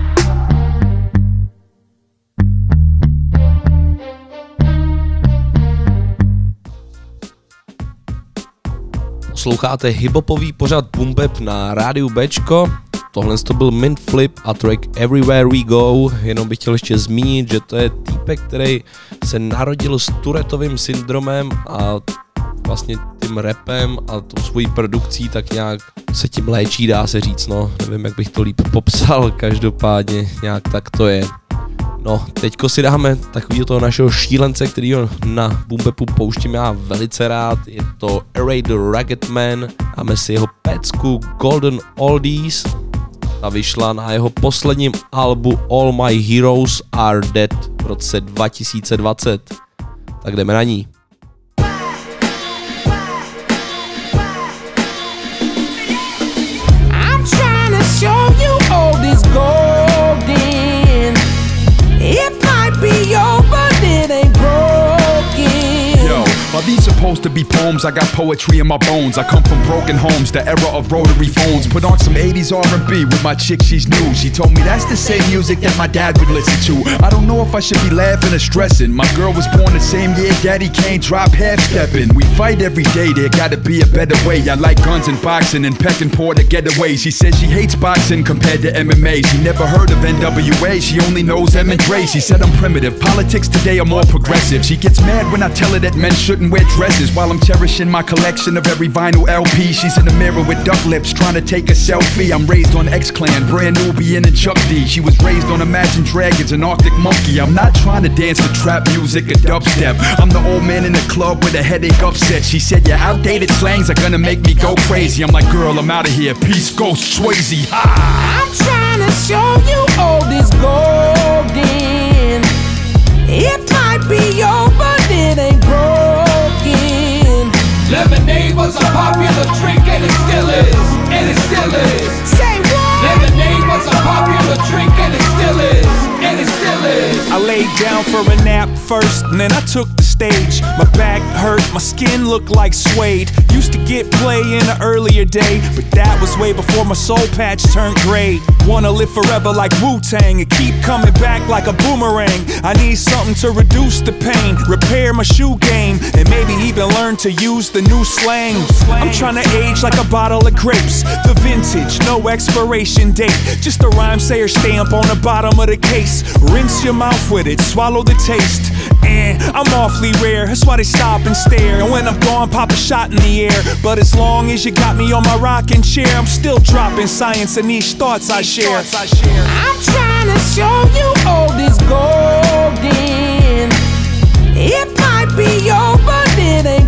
Posloucháte hiphopový pořad Boom Bap na rádiu Bčko. Tohle to byl Mint Flip a track Everywhere We Go. Jenom bych chtěl ještě zmínit, že to je týpek, který se narodil s Tourettovým syndromem a vlastně tím rapem a tou svojí produkcí tak nějak se tím léčí, dá se říct, no. Nevím, jak bych to líp popsal, každopádně nějak tak to je. No, teďko si dáme takovýho toho našeho šílence, kterýho na Boom Bapu pouštím já velice rád. Je to Array the Ragged Man. Dáme si jeho pecku Golden Oldies. Ta vyšla na jeho posledním albu All My Heroes Are Dead v roce 2020. Tak jdeme na ní. I'm trying to show you all this golden. It might be over, but it ain't broken. Yo, are these supposed to be poems? I got poetry in my bones. I come from broken homes, the era of rotary phones. Put on some 80s R&B with my chick, she's new. She told me that's the same music that my dad would listen to. I don't know if I should be laughing or stressing. My girl was born the same year Daddy Kane dropped half-stepping. We fight every day, there gotta be a better way. I like guns and boxing and pecking poor to getaways. She says she hates boxing compared to MMA. She never heard of NWA, she only knows M and Dre. She said I'm primitive, politics today are more progressive. She gets mad when I tell her that men shouldn't wear dresses. While I'm cherishing my collection of every vinyl LP, she's in the mirror with duck lips trying to take a selfie. I'm raised on X-Clan, Brand Nubian and Chuck D. She was raised on Imagine Dragons and Arctic Monkey. I'm not trying to dance to trap music or dubstep. I'm the old man in the club with a headache upset. She said your outdated slangs are gonna make me go crazy. I'm like, girl, I'm out of here, peace, ghost, Swayze. Ha! I'm trying to show you all this golden. It might be over, but it ain't broken. Lemonade was a popular drink and it still is, and it still is. Say what? Lemonade was a popular drink and it still is, and it still is. I laid down for a nap first, and then I took the stage. My back hurt, my skin looked like suede. Used to get play in an earlier day, but that was way before my soul patch turned gray. Wanna live forever like Wu-Tang and keep coming back like a boomerang. I need something to reduce the pain, repair my shoe game, and maybe even learn to use the new slang. I'm trying to age like a bottle of grapes, the vintage, no expiration date. Just a rhyme sayer stamp on the bottom of the case. Rinse your mouth with it, swallow the taste. And I'm awfully rare, that's why they stop and stare. And when I'm gone, pop a shot in the air. But as long as you got me on my rocking chair, I'm still dropping science and niche thoughts I share. I'm trying to show you all this golden. It might be over, but it ain't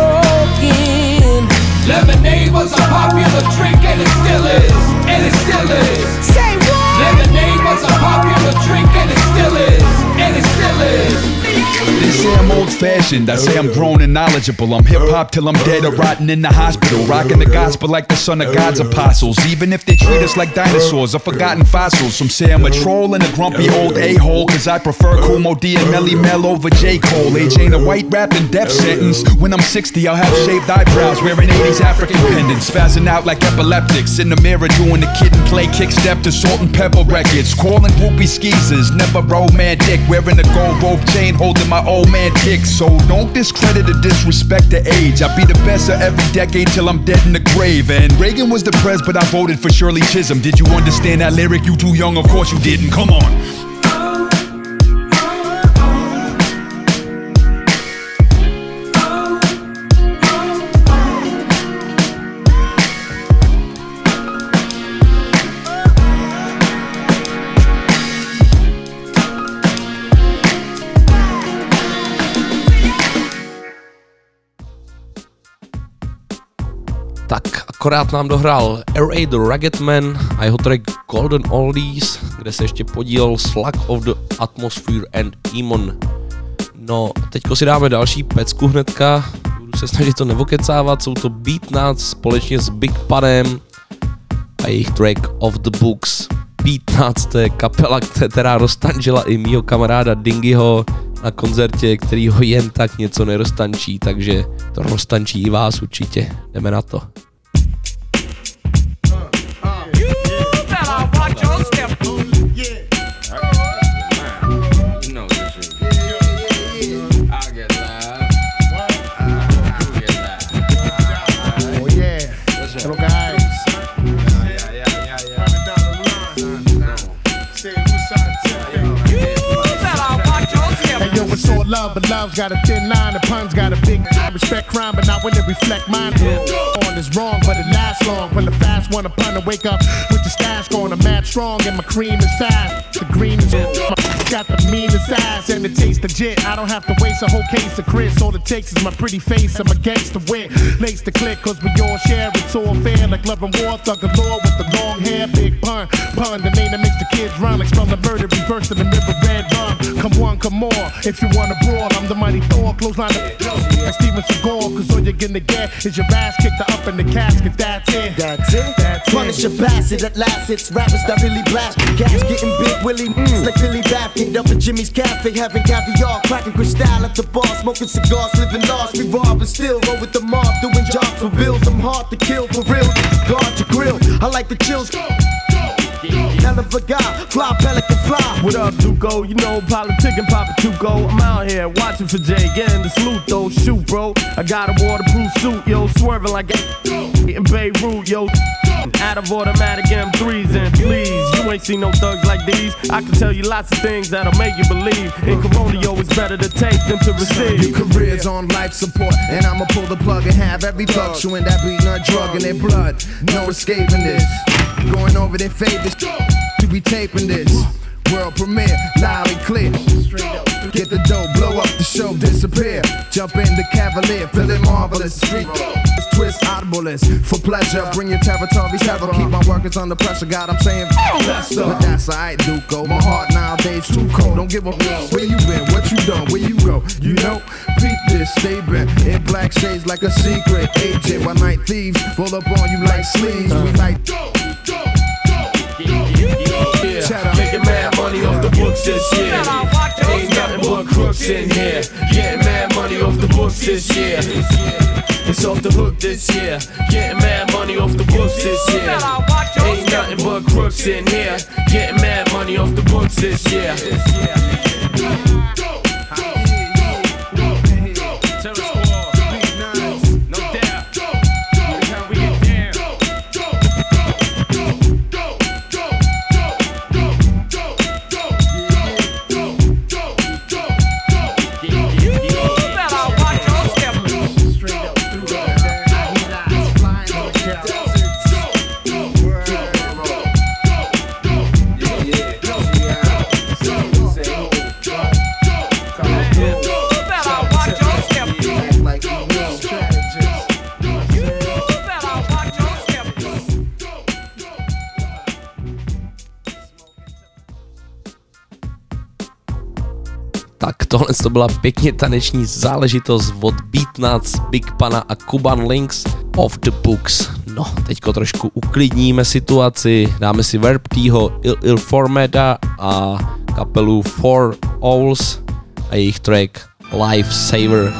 broken. Lemonade was a popular drink and it still is, and it still is. Say what? Lemonade was a popular drink and it still is, and it still is. They say I'm old-fashioned mentioned. I say I'm grown and knowledgeable. I'm hip-hop till I'm dead or rotting in the hospital. Rocking the gospel like the son of God's apostles. Even if they treat us like dinosaurs or forgotten fossils. Some say I'm a troll and a grumpy old a-hole, cause I prefer Kumo D and Melly Mel over J. Cole. Age ain't a white rapping death sentence. When I'm 60, I'll have shaved eyebrows, wearing 80s African pendants, spazzing out like epileptics. In the mirror doing the kid and play kick step to Salt and Pepper records. Calling groupie skeezers, never romantic. Wearing a gold rope chain, holding my old man dick. So don't discredit or disrespect the age. I'll be the best of every decade till I'm dead in the grave. And Reagan was the pres, but I voted for Shirley Chisholm. Did you understand that lyric? You too young, of course you didn't. Come on. Tak akorát nám dohrál R.A. The Rugged Man a jeho track Golden Oldies, kde se ještě podílel Slug of the Atmosphere and Emon. No, teďko si dáme další pecku hnedka, budu se snažit to nevokecávat, jsou to Beatnuts společně s Big Punem a jejich track Off the Books. Beatnuts, to je kapela, která roztančila i mýho kamaráda Dingyho na koncertě, který ho jen tak něco neroztančí, takže to roztančí i vás určitě. Jdeme na to. Love, but love's got a thin line, the pun's got a big I respect crime, but not when it reflect mine. On is wrong, but it lasts long. When the fast one upon to wake up with the stash going, I'm mad strong, and my cream is fast. The green is got the meanest ass, and it tastes legit. I don't have to waste a whole case of Chris. All it takes is my pretty face. I'm against the wit. Lace the click, cause we all share. It's all fair, like love and war. Thug galore with the long hair, big pun. Pun, the name that makes the kids run. Like spell the murder, reverse in the river, red rum. Come one, come more. If you wanna brawl, I'm the mighty Thor. Clothesline like Steven Seagal, cause all you're gonna get is your ass kicked up in the casket. That's it. That's it. That's it. Punish a bastard at last. It's rappers that really blast. Gas getting big, Willie like Billy Baffin. Up at Jimmy's Cafe, having caviar, cracking crystal at the bar, smoking cigars, living large. We rob and still roll with the mob, doing jobs for bills. I'm hard to kill for real. Guard your grill. I like the chills. Hell of a guy, fly pelican fly. What up, Duco? You know, politicking Papa Tuco. I'm out here watching for Jay, getting the salute though. Shoot, bro. I got a waterproof suit, yo, swerving like in Beirut, yo. Out of automatic M3s, and please, you ain't seen no thugs like these. I can tell you lots of things that'll make you believe. In Corona, yo, it's better to take than to receive. Your career's on life support, and I'ma pull the plug and have every thug chewing that beat nut drug in their blood. No escaping this. Going over their favorites to be taping this. World premiere, loud and clear. Get the dough, blow up the show, disappear. Jump in the Cavalier, feeling marvelous. Street twist, audibleness for pleasure. Bring your territory, terror. Keep my workers under pressure. God, I'm saying, but that's alright, Duco. My heart nowadays too cold. Don't give a where you been, what you done, where you go. You know, peep this, stay bent in black shades like a secret agent. While night thieves roll up on you like sleeves. We like. Making mad money off the books this year. Ain't nothing but crooks in here. Getting mad money off the books this year. It's off the hook this year. Getting mad money off the books this year. Ain't nothing but crooks in here. Getting mad money off the books this year. Tak tohle to byla pěkně taneční záležitost od Beatnuts, Big Pana a Cuban Links, Off the Books. No, teďko trošku uklidníme situaci, dáme si Verb Tho, Il Formeda a kapelu Four Owls a jejich track Life Saver.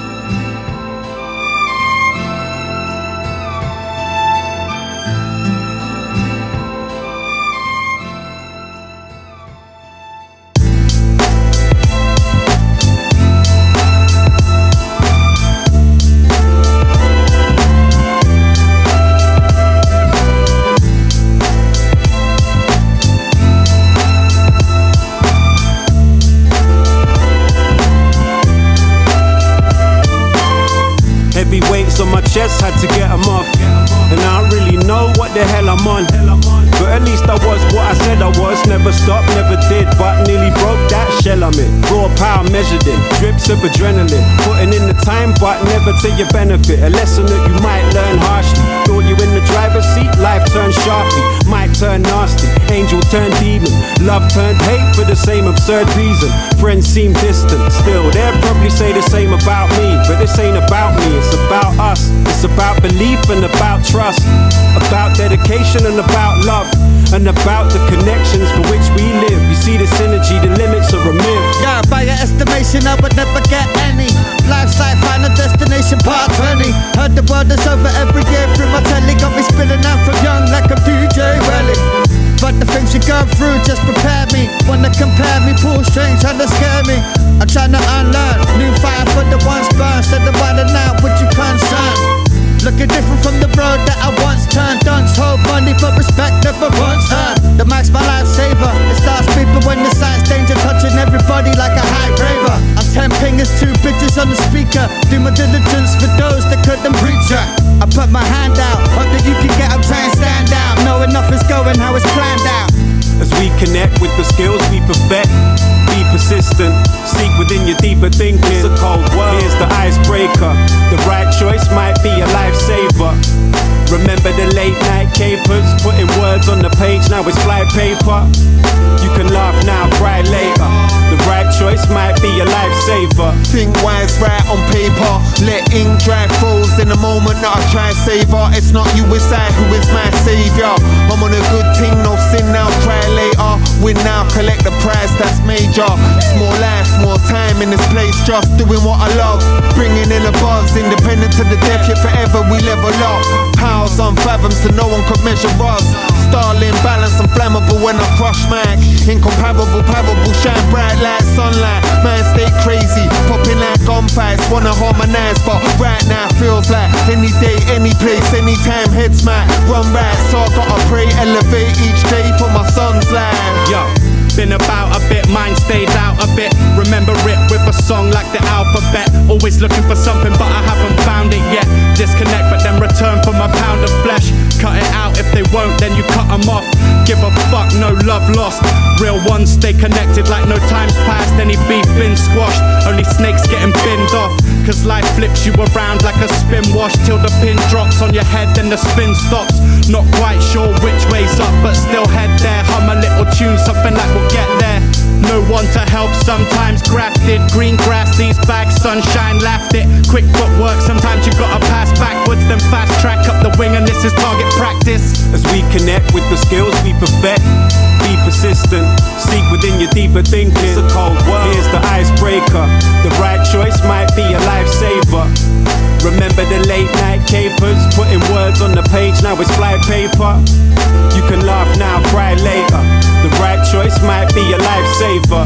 On my chest, had to get them off. And I don't really know what the hell I'm on. But at least I was what I said I was. Never stopped, never did, but nearly broke that shell I'm in. Raw power measured in drips of adrenaline. Putting in the time, but never to your benefit. A lesson that you might learn harshly. Thought you in the driver's seat, life turned sharply. Might turn nasty, angel turned demon. Love turned hate for the same absurd reason. Friends seem distant, still they'll probably say the same about me. But this ain't about me, it's about us. It's about belief and about trust. About dedication and about love. And about the connections for which we live. You see the synergy, the limits are a myth. Yeah, by your estimation I would never get any. Life's like Final Destination Part 20. Heard the world is over every year through my telly. Got me spilling out from young like a DJ Welly. But the things you go through just prepare me. Wanna compare me, pull strings, trying to scare me. I'm trying to unlearn, new fire for the ones burned. Instead of winding out with your concern. Looking different from the road that I once turned. Dunce hold money but respect never once earned. The mic's my lifesaver. It starts beeping when the signs danger, touching everybody like a high graver. I'm 10 fingers, 2 bitches on the speaker. Do my diligence for those that couldn't reach ya. I put my hand out, hope that you can get up, try and stand out. Knowing nothing's going how it's planned out. As we connect with the skills we perfect. Be persistent, seek within your deeper thinking. It's a cold world, here's the icebreaker. The right choice might be a lifesaver. Remember the late night capers, putting words on the page, now it's fly paper. You can laugh now, cry later. The right choice might be a lifesaver. Think wise, right on paper. Let ink dry froze in the moment that I try and savor. It's not you, it's I who is my savior. I'm on a good thing, no sin now, cry later. Win now, collect the prize, that's major. It's more life, more time in this place, just doing what I love. Bringing in a buzz, independent to the death, yet forever we level up. Powers unfathomed so no one could measure us. Starling, balance and flammable when I crush mic. Incomparable, palpable, shine bright like sunlight. Man stay crazy, popping like gunfights. Wanna harmonize, but right now feels like any day, any place, anytime heads might run right. So I gotta pray, elevate each day for my son's life. Yo, been about a bit, mine stayed out a bit. Remember it with a song like the alphabet. Always looking for something but I haven't found it yet. Disconnect but then return for my pound of flesh. Cut it out if they won't, then you cut them off. Give a fuck, no love lost. Real ones stay connected like no time's passed. Any beef been squashed, only snakes getting binned off. Cause life flips you around like a spin wash. Till the pin drops on your head, then the spin stops. Not quite sure which way's up, but still head there. Hum a little tune, something like we'll get there. No one to help, sometimes grafted. Green grass, these bags, sunshine, laughed it. Quick footwork, sometimes you gotta pass backwards, then fast track up the wing, and this is target practice. As we connect with the skills we perfect, be persistent, seek within your deeper thinking. It's a cold world, here's the icebreaker. The right choice might be a lifesaver. Remember the late night capers, putting words on the page, now it's fly paper. You can laugh now, cry later. The right choice might be a lifesaver.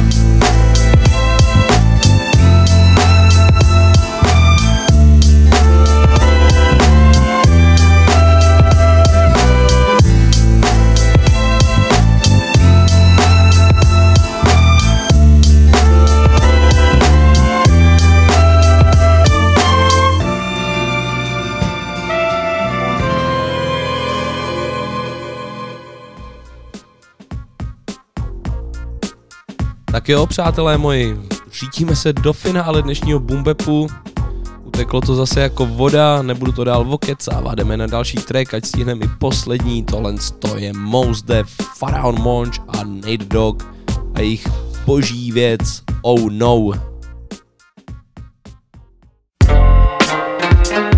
Tak jo, přátelé moji, řítíme se do finále dnešního Boombepu. Uteklo to zase jako voda, nebudu to dál vokecávat, jdeme na další track, ať stihneme i poslední. Tohle je Mos Def, Pharaoh Monch a Nate Dogg a jejich boží věc Oh No.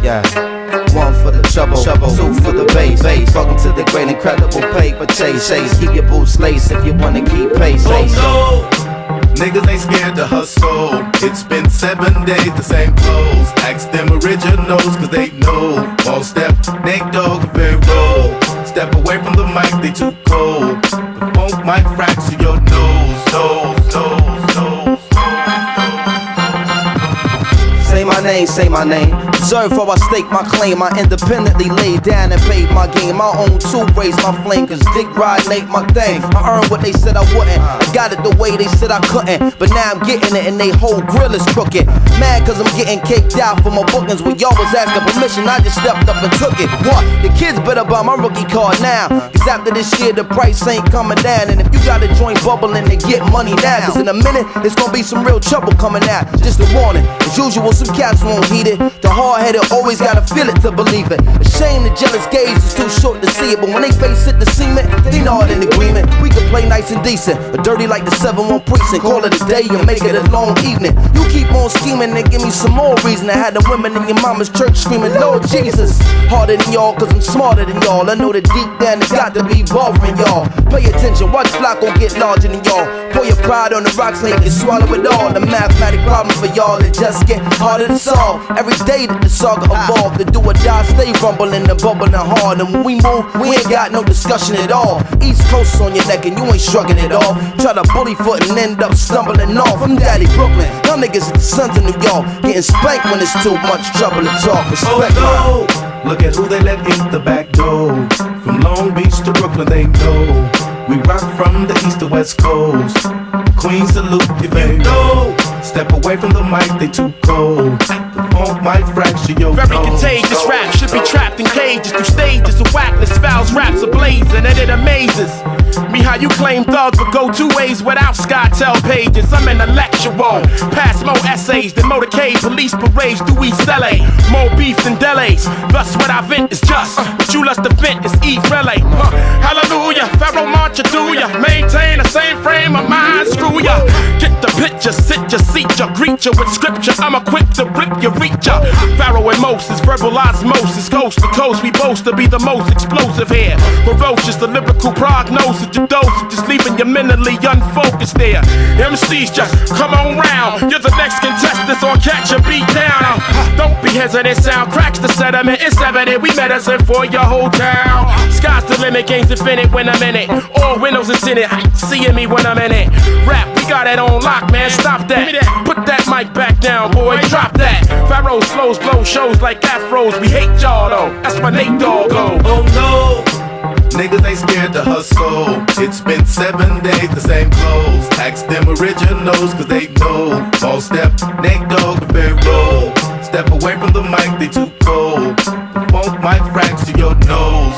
Yeah. One for the trouble, two for the bass. Welcome to the great incredible paper chase. Keep your boots laced if you wanna keep pace. Oh no, niggas ain't scared to hustle. It's been 7 days, the same clothes. Ask them originals, cause they know. All step, Nate Dogg, very roll. Step away from the mic, they too cold. The funk might fracture your nose. Say my name. Observe how I stake my claim. I independently laid down and paid my game. My own two raise my flame, cause dick riding ain't my thing. I earned what they said I wouldn't. I got it the way they said I couldn't. But now I'm getting it and they whole grill is crooked. Mad cause I'm getting caked out for my bookings. When y'all was asking permission, I just stepped up and took it. What? The kids better buy my rookie card now. Cause after this year the price ain't coming down. And if you got a joint bubbling, then get money now. Cause in a minute, it's gonna be some real trouble coming out. Just a warning. As usual, some cats won't heed it. The hard-headed always gotta feel it to believe it. A shame the jealous gaze is too short to see it. But when they face it, the cement, they not in agreement. We can play nice and decent, or dirty like the 7-1 precinct. Call it a day and make it a long evening. You keep on scheming and give me some more reason. I had the women in your mama's church screaming, Lord Jesus. Harder than y'all, cause I'm smarter than y'all. I know that deep down it's got to be bothering y'all. Pay attention, watch Flacco get larger than y'all. Pour your pride on the rocks and you can swallow it all. The mathematic problem for y'all, it just get harder to solve. Every day that the saga evolved, the do or die stay rumbling and bubbling hard. And when we move, we ain't got no discussion at all. East Coast on your neck and you ain't shrugging it off. Try to bully foot and end up stumbling off. I'm Daddy Brooklyn, y'all niggas are the sons of New York. Getting spanked when it's too much trouble to talk. Respect oh no, look at who they let in the back door. From Long Beach to Brooklyn, they know. We rock from the east to west coast. Queen salute if you know. Step away from the mic, they too cold. The funk might fracture your Very nose. contagious rap should be trapped in cages. Through stages of whackness, fouls, raps ablazing. And it amazes me how you claim thugs would go 2 ways without SkyTel pages. I'm in a lecture room, pass more essays than motorcade police parades through East LA. More beef than delays. Thus what I vent is just what you lust to vent is eat relay. Hallelujah, Pharaoh march through ya. Maintain the same frame of mind, screw ya. Get the picture, sit ya, seat ya, greet ya with scripture. I'm equipped to rip ya, reach ya. Pharaoh and Moses, verbal osmosis, coast to coast. We boast to be the most explosive here. Ferocious, the lyrical prognosis, your dosage, just leaving you mentally unfocused there. MCs just come on round. You're the next contestant, or catch a beat down. Don't be hesitant, sound cracks the sediment. It's evident we medicine for your whole town. Sky's the limit, game's infinite when I'm in it. All windows is in it, seeing me when I'm in it. Rap, we got it on lock, man, stop that. Put that mic back down, boy, drop that. Pharaoh's flows blow shows like afros. We hate y'all though, that's my Nate Dogg go. Oh no, niggas ain't scared to hustle. It's been 7 days, the same clothes. Ask them originals, cause they know. All step, Nate Dogg, very roll. Step away from the mic, they too cold. The funk might fracture your nose.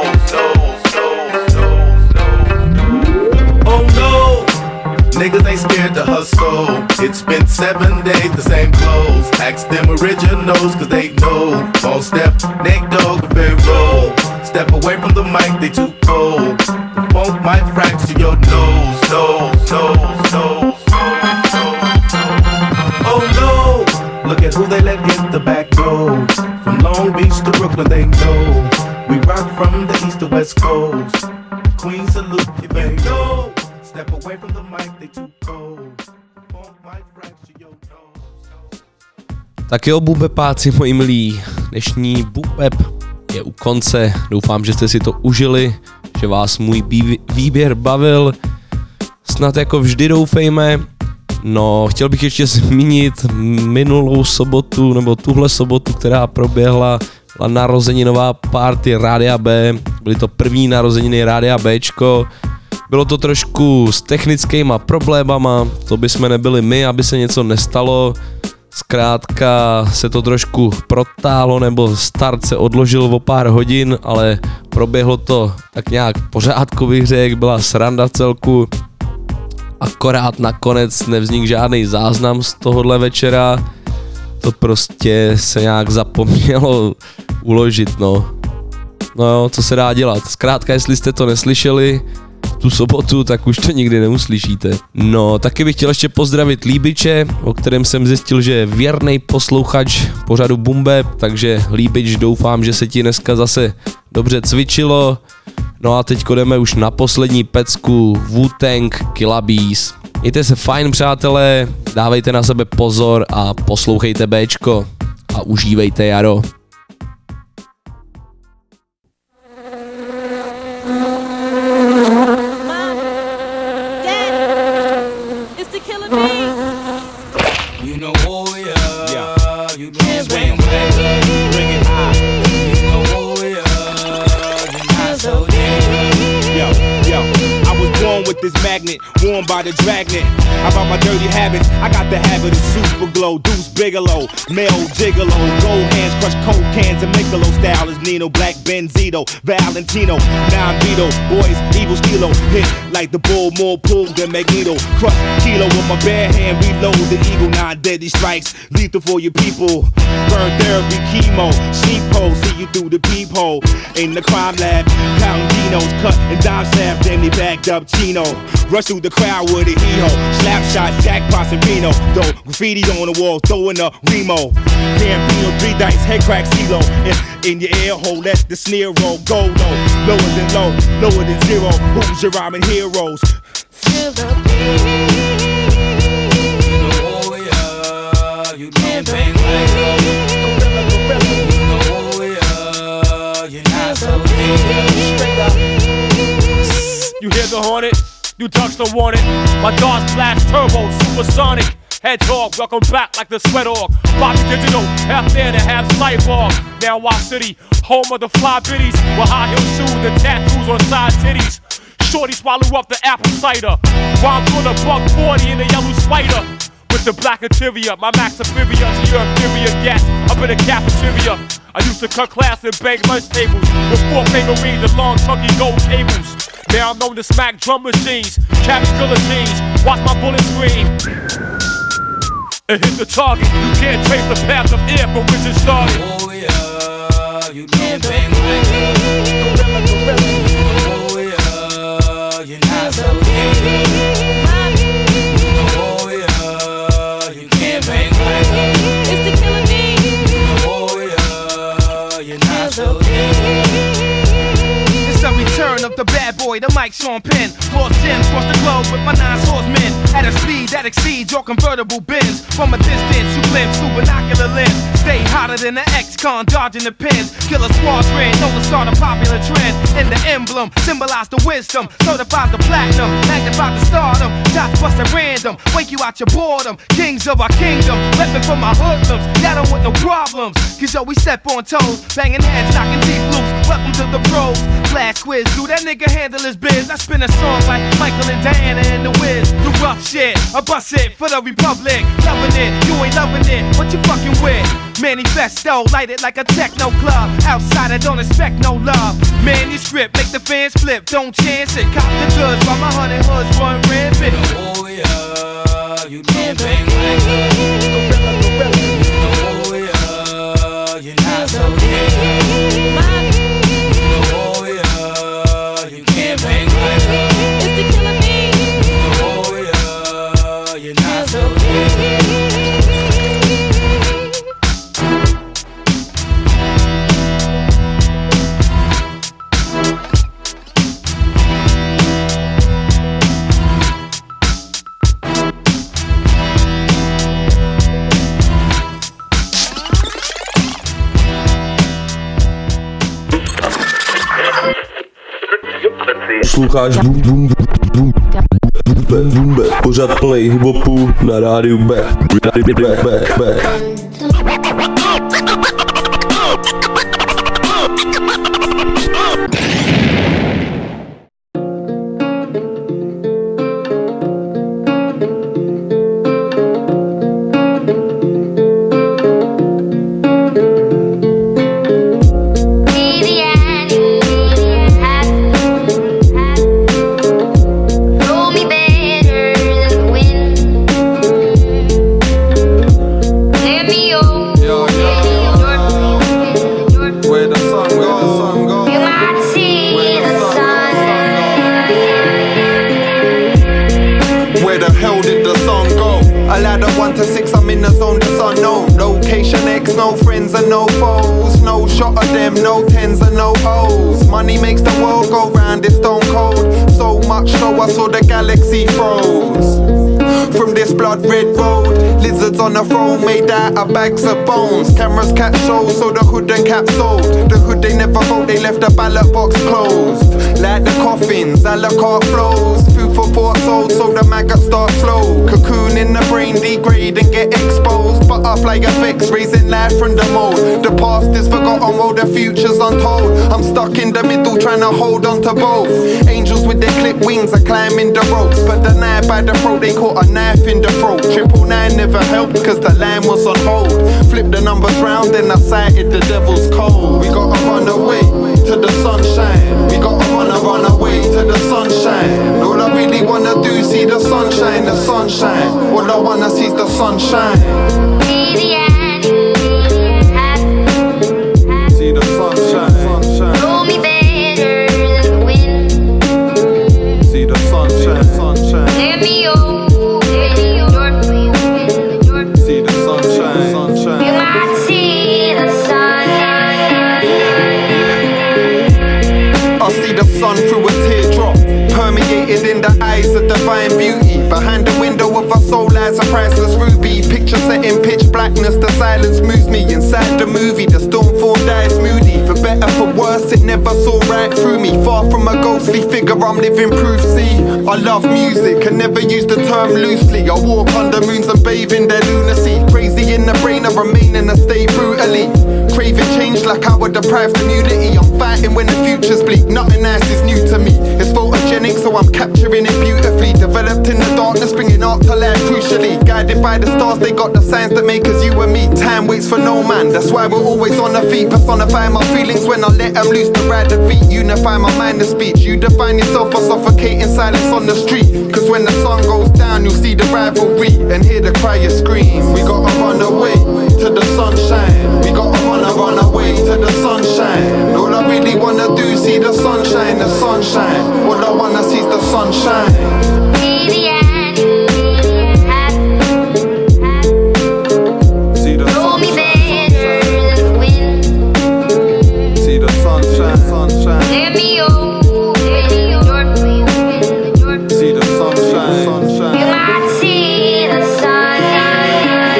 Oh no, niggas ain't scared to hustle. It's been 7 days, the same clothes. Ask them originals, cause they know. All step, Nate Dogg, very roll. Step away from the mic, they too cold. The funk might fracture your nose. Oh no, look at who they let in the back door. From Long Beach to Brooklyn, they know. We rock from the east to west coast. Queen salute if you know. Step away from the mic, they too cold. The funk might fracture your nose. Tak jo, bubepáci moji milí, dnešní bubep je u konce. Doufám, že jste si to užili, že vás můj výběr bavil. Snad jako vždy doufejme. No, chtěl bych ještě zmínit minulou sobotu, nebo tuhle sobotu, která proběhla, byla narozeninová party Rádia B. Byly to první narozeniny Rádia Bčko. Bylo to trošku s technickýma problémama, to bychom nebyli my, aby se něco nestalo. Zkrátka se to trošku protáhlo, nebo start se odložil o pár hodin, ale proběhlo to tak nějak v pořádku, bych řekl, byla sranda v celku. Akorát nakonec nevznikl žádný záznam z tohohle večera, to prostě se nějak zapomnělo uložit, no. No jo, co se dá dělat, zkrátka jestli jste to neslyšeli, tu sobotu, tak už to nikdy neuslyšíte. No, taky bych chtěl ještě pozdravit Líbiče, o kterém jsem zjistil, že je věrnej posluchač pořadu Boom Bap, takže Líbič, doufám, že se ti dneska zase dobře cvičilo. No a teď jdeme už na poslední pecku Wu-Tang Killa Bees. Mějte se fajn, přátelé, dávejte na sebe pozor a poslouchejte Bčko a užívejte jaro. This magnet, worn by the dragnet. About my dirty habits, I got the habit of super glow. Deuce Bigelow, male gigolo. Gold hands crush cold cans and Michelob style is Nino, Black Benzito, Valentino. Now I'm Vito, boys, evil stilo. Hit like the bull, more pull than Magneto. Crush kilo with my bare hand, reload the eagle. 9 deadly strikes, lethal for your people. Burn therapy, chemo, sheephole, see you through the peephole. In the crime lab, counting Dinos, cut and dime slabs, then they backed up Chino. Rush through the crowd with a hee-ho. Slap shot, jackpots and Reno. Though graffiti on the wall, throwing up Remo. Campino, 3 dice, head crack, CeeLo. In your ear hole, let the snare roll. Go low, lower than low, lower than zero. Who's your rhyming heroes? Feel the beat. Oh yeah, you can't bang like me. Oh yeah, you're not so deep. Straight up. You hear the hornet? You touch the warning. My dogs flash turbo, supersonic. Hedgehog, welcome back like the sweat org. Bobby Digital, half there to half cyborg. Now Wild City, home of the fly biddies. With high heel shoes and tattoos on side titties. Shorty swallow up the apple cider. While I'm doing a $140 in the yellow spider. With the black interior, my max inferior to your inferior gas. Up in the cafeteria, I used to cut class and bang lunch tables with 4 finger rings and long chunky gold cables. Now I'm known to smack drum machines, cabin guillotines, watch my bullets scream and hit the target. You can't trace the path of air from which it started. Oh yeah, you can't bang like me. Oh yeah, you're not so deep. Oh yeah, you can't bang like me. It's the Killer Bees. Oh yeah, you're not so deep. It's a return of the bad boy, the Mike Sean Penn. Lost gems across the globe with my 9 swordsmen. At a speed that exceeds your convertible Benz. From a distance you glimpse through binocular lens. Stay hotter than the ex-con dodging the pins. Killer squadron, know to start a popular trend. And the emblem, symbolize the wisdom. Certifies the platinum, magnifies the stardom. Shots bust at random, wake you out your boredom. Kings of our kingdom, weapon for my hoodlums. Y'all don't want no problems, cause yo we step on toes. Banging heads, knocking teeth loose. Welcome to the pros. Flash quiz, do that nigga handle his biz? I spin a song like Michael and Diana and the Wiz. The rough shit, I bust it for the Republic. Loving it, you ain't loving it, what you fucking with? Manifesto, light it like a techno club. Outside I don't expect no love. Manuscript, make the fans flip, don't chance it. Cop the goods while my 100 hoods run rampant. Oh yeah, you can't bang like me. Oh yeah, you're not so deep. Oh yeah, you can't bang like me. It's the Killer Bees. Oh yeah, you're not so deep. Posloucháš Boom Bap, pořad play hiphopu na rádiu Back. Roll me better than the wind. Let me Where the hell did the sun go? A ladder 1 to 6, I'm in the zone that's unknown. Location X, no friends and no foes. No shot of them, no tens and no O's. Money makes the world go round, it's stone cold. So much so I saw the galaxy froze. From this blood red road, lizards on the throne made out of bags of bones. Cameras catch shows, so the hood and cap sold. The hood they never vote, they left the ballot box closed. Like the coffins, a la carte flows. Food for thought sold, so the maggots start flow. Cocoon in the brain, degrade and get exposed. Butterfly effects, raising life from the mold. The past is forgotten while the future's untold. I'm stuck in the middle trying to hold on to both. Angels with their clipped wings are climbing the ropes, but the knife by the throat, they caught a knife in the throat. 999 never helped cause the line was on hold. Flip the numbers round then I sighted the devil's cold. We gotta run away to the sunshine. We gotta run away to the sunshine. All I really wanna do, see the sunshine, the sunshine. All I wanna see is the sunshine. Baby, I knew see the sunshine, sunshine. know me better than the wind. See the sunshine, sunshine. Let me over your see the sunshine, sunshine. You might see the sunshine. I see the sun through a teardrop, permeated in the eyes of divine beauty. Behind the window of our soul lies a priceless ruby. Picture set in pitch blackness, the silence moves me. Inside the movie, the storm form dies moody. For better, for worse, it never saw right through me. Far from a ghostly figure, I'm living proof, see. I love music, and never use the term loosely. I walk under moons and bathe in their lunacy. Crazy in the brain, I remain in a state brutally. Craving change like our deprived community. I'm fighting when the future's bleak, nothing nice is new to me. It's photogenic, so I'm capturing it beautifully. Developed in the darkness, bringing art to life crucially. Guided by the stars, they got the signs that make us you and me. Time waits for no man, that's why we're always on the feet. Personify my feelings when I let them loose to ride the beat. Unify my mind and speech. You define yourself for suffocating silence on the street. Cause when the sun goes down, you'll see the rivalry and hear the crier scream. We gotta run away to the sunshine. We gotta run away to the sunshine. All I really wanna do, see the sunshine, the sunshine. All I wanna see is the sunshine. Baby, I knew see the know me better than the wind. See the sunshine, sunshine. Let me over your see the sunshine, sunshine. You might see the sunshine.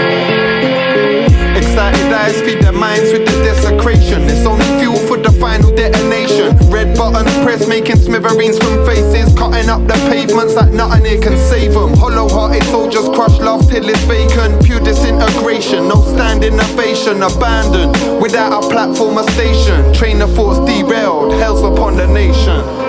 Excited eyes feed their minds with the desecration. It's only fuel for the final detonation. Red buttons pressed, making smithereens from faces. Cutting up the pavements like nothing here can save them. Hollow-hearted soldiers crush love till it's vacant. Pure disintegration, no standing ovation. Abandoned, without a platform or station. Train of thoughts derailed, hell's upon the nation.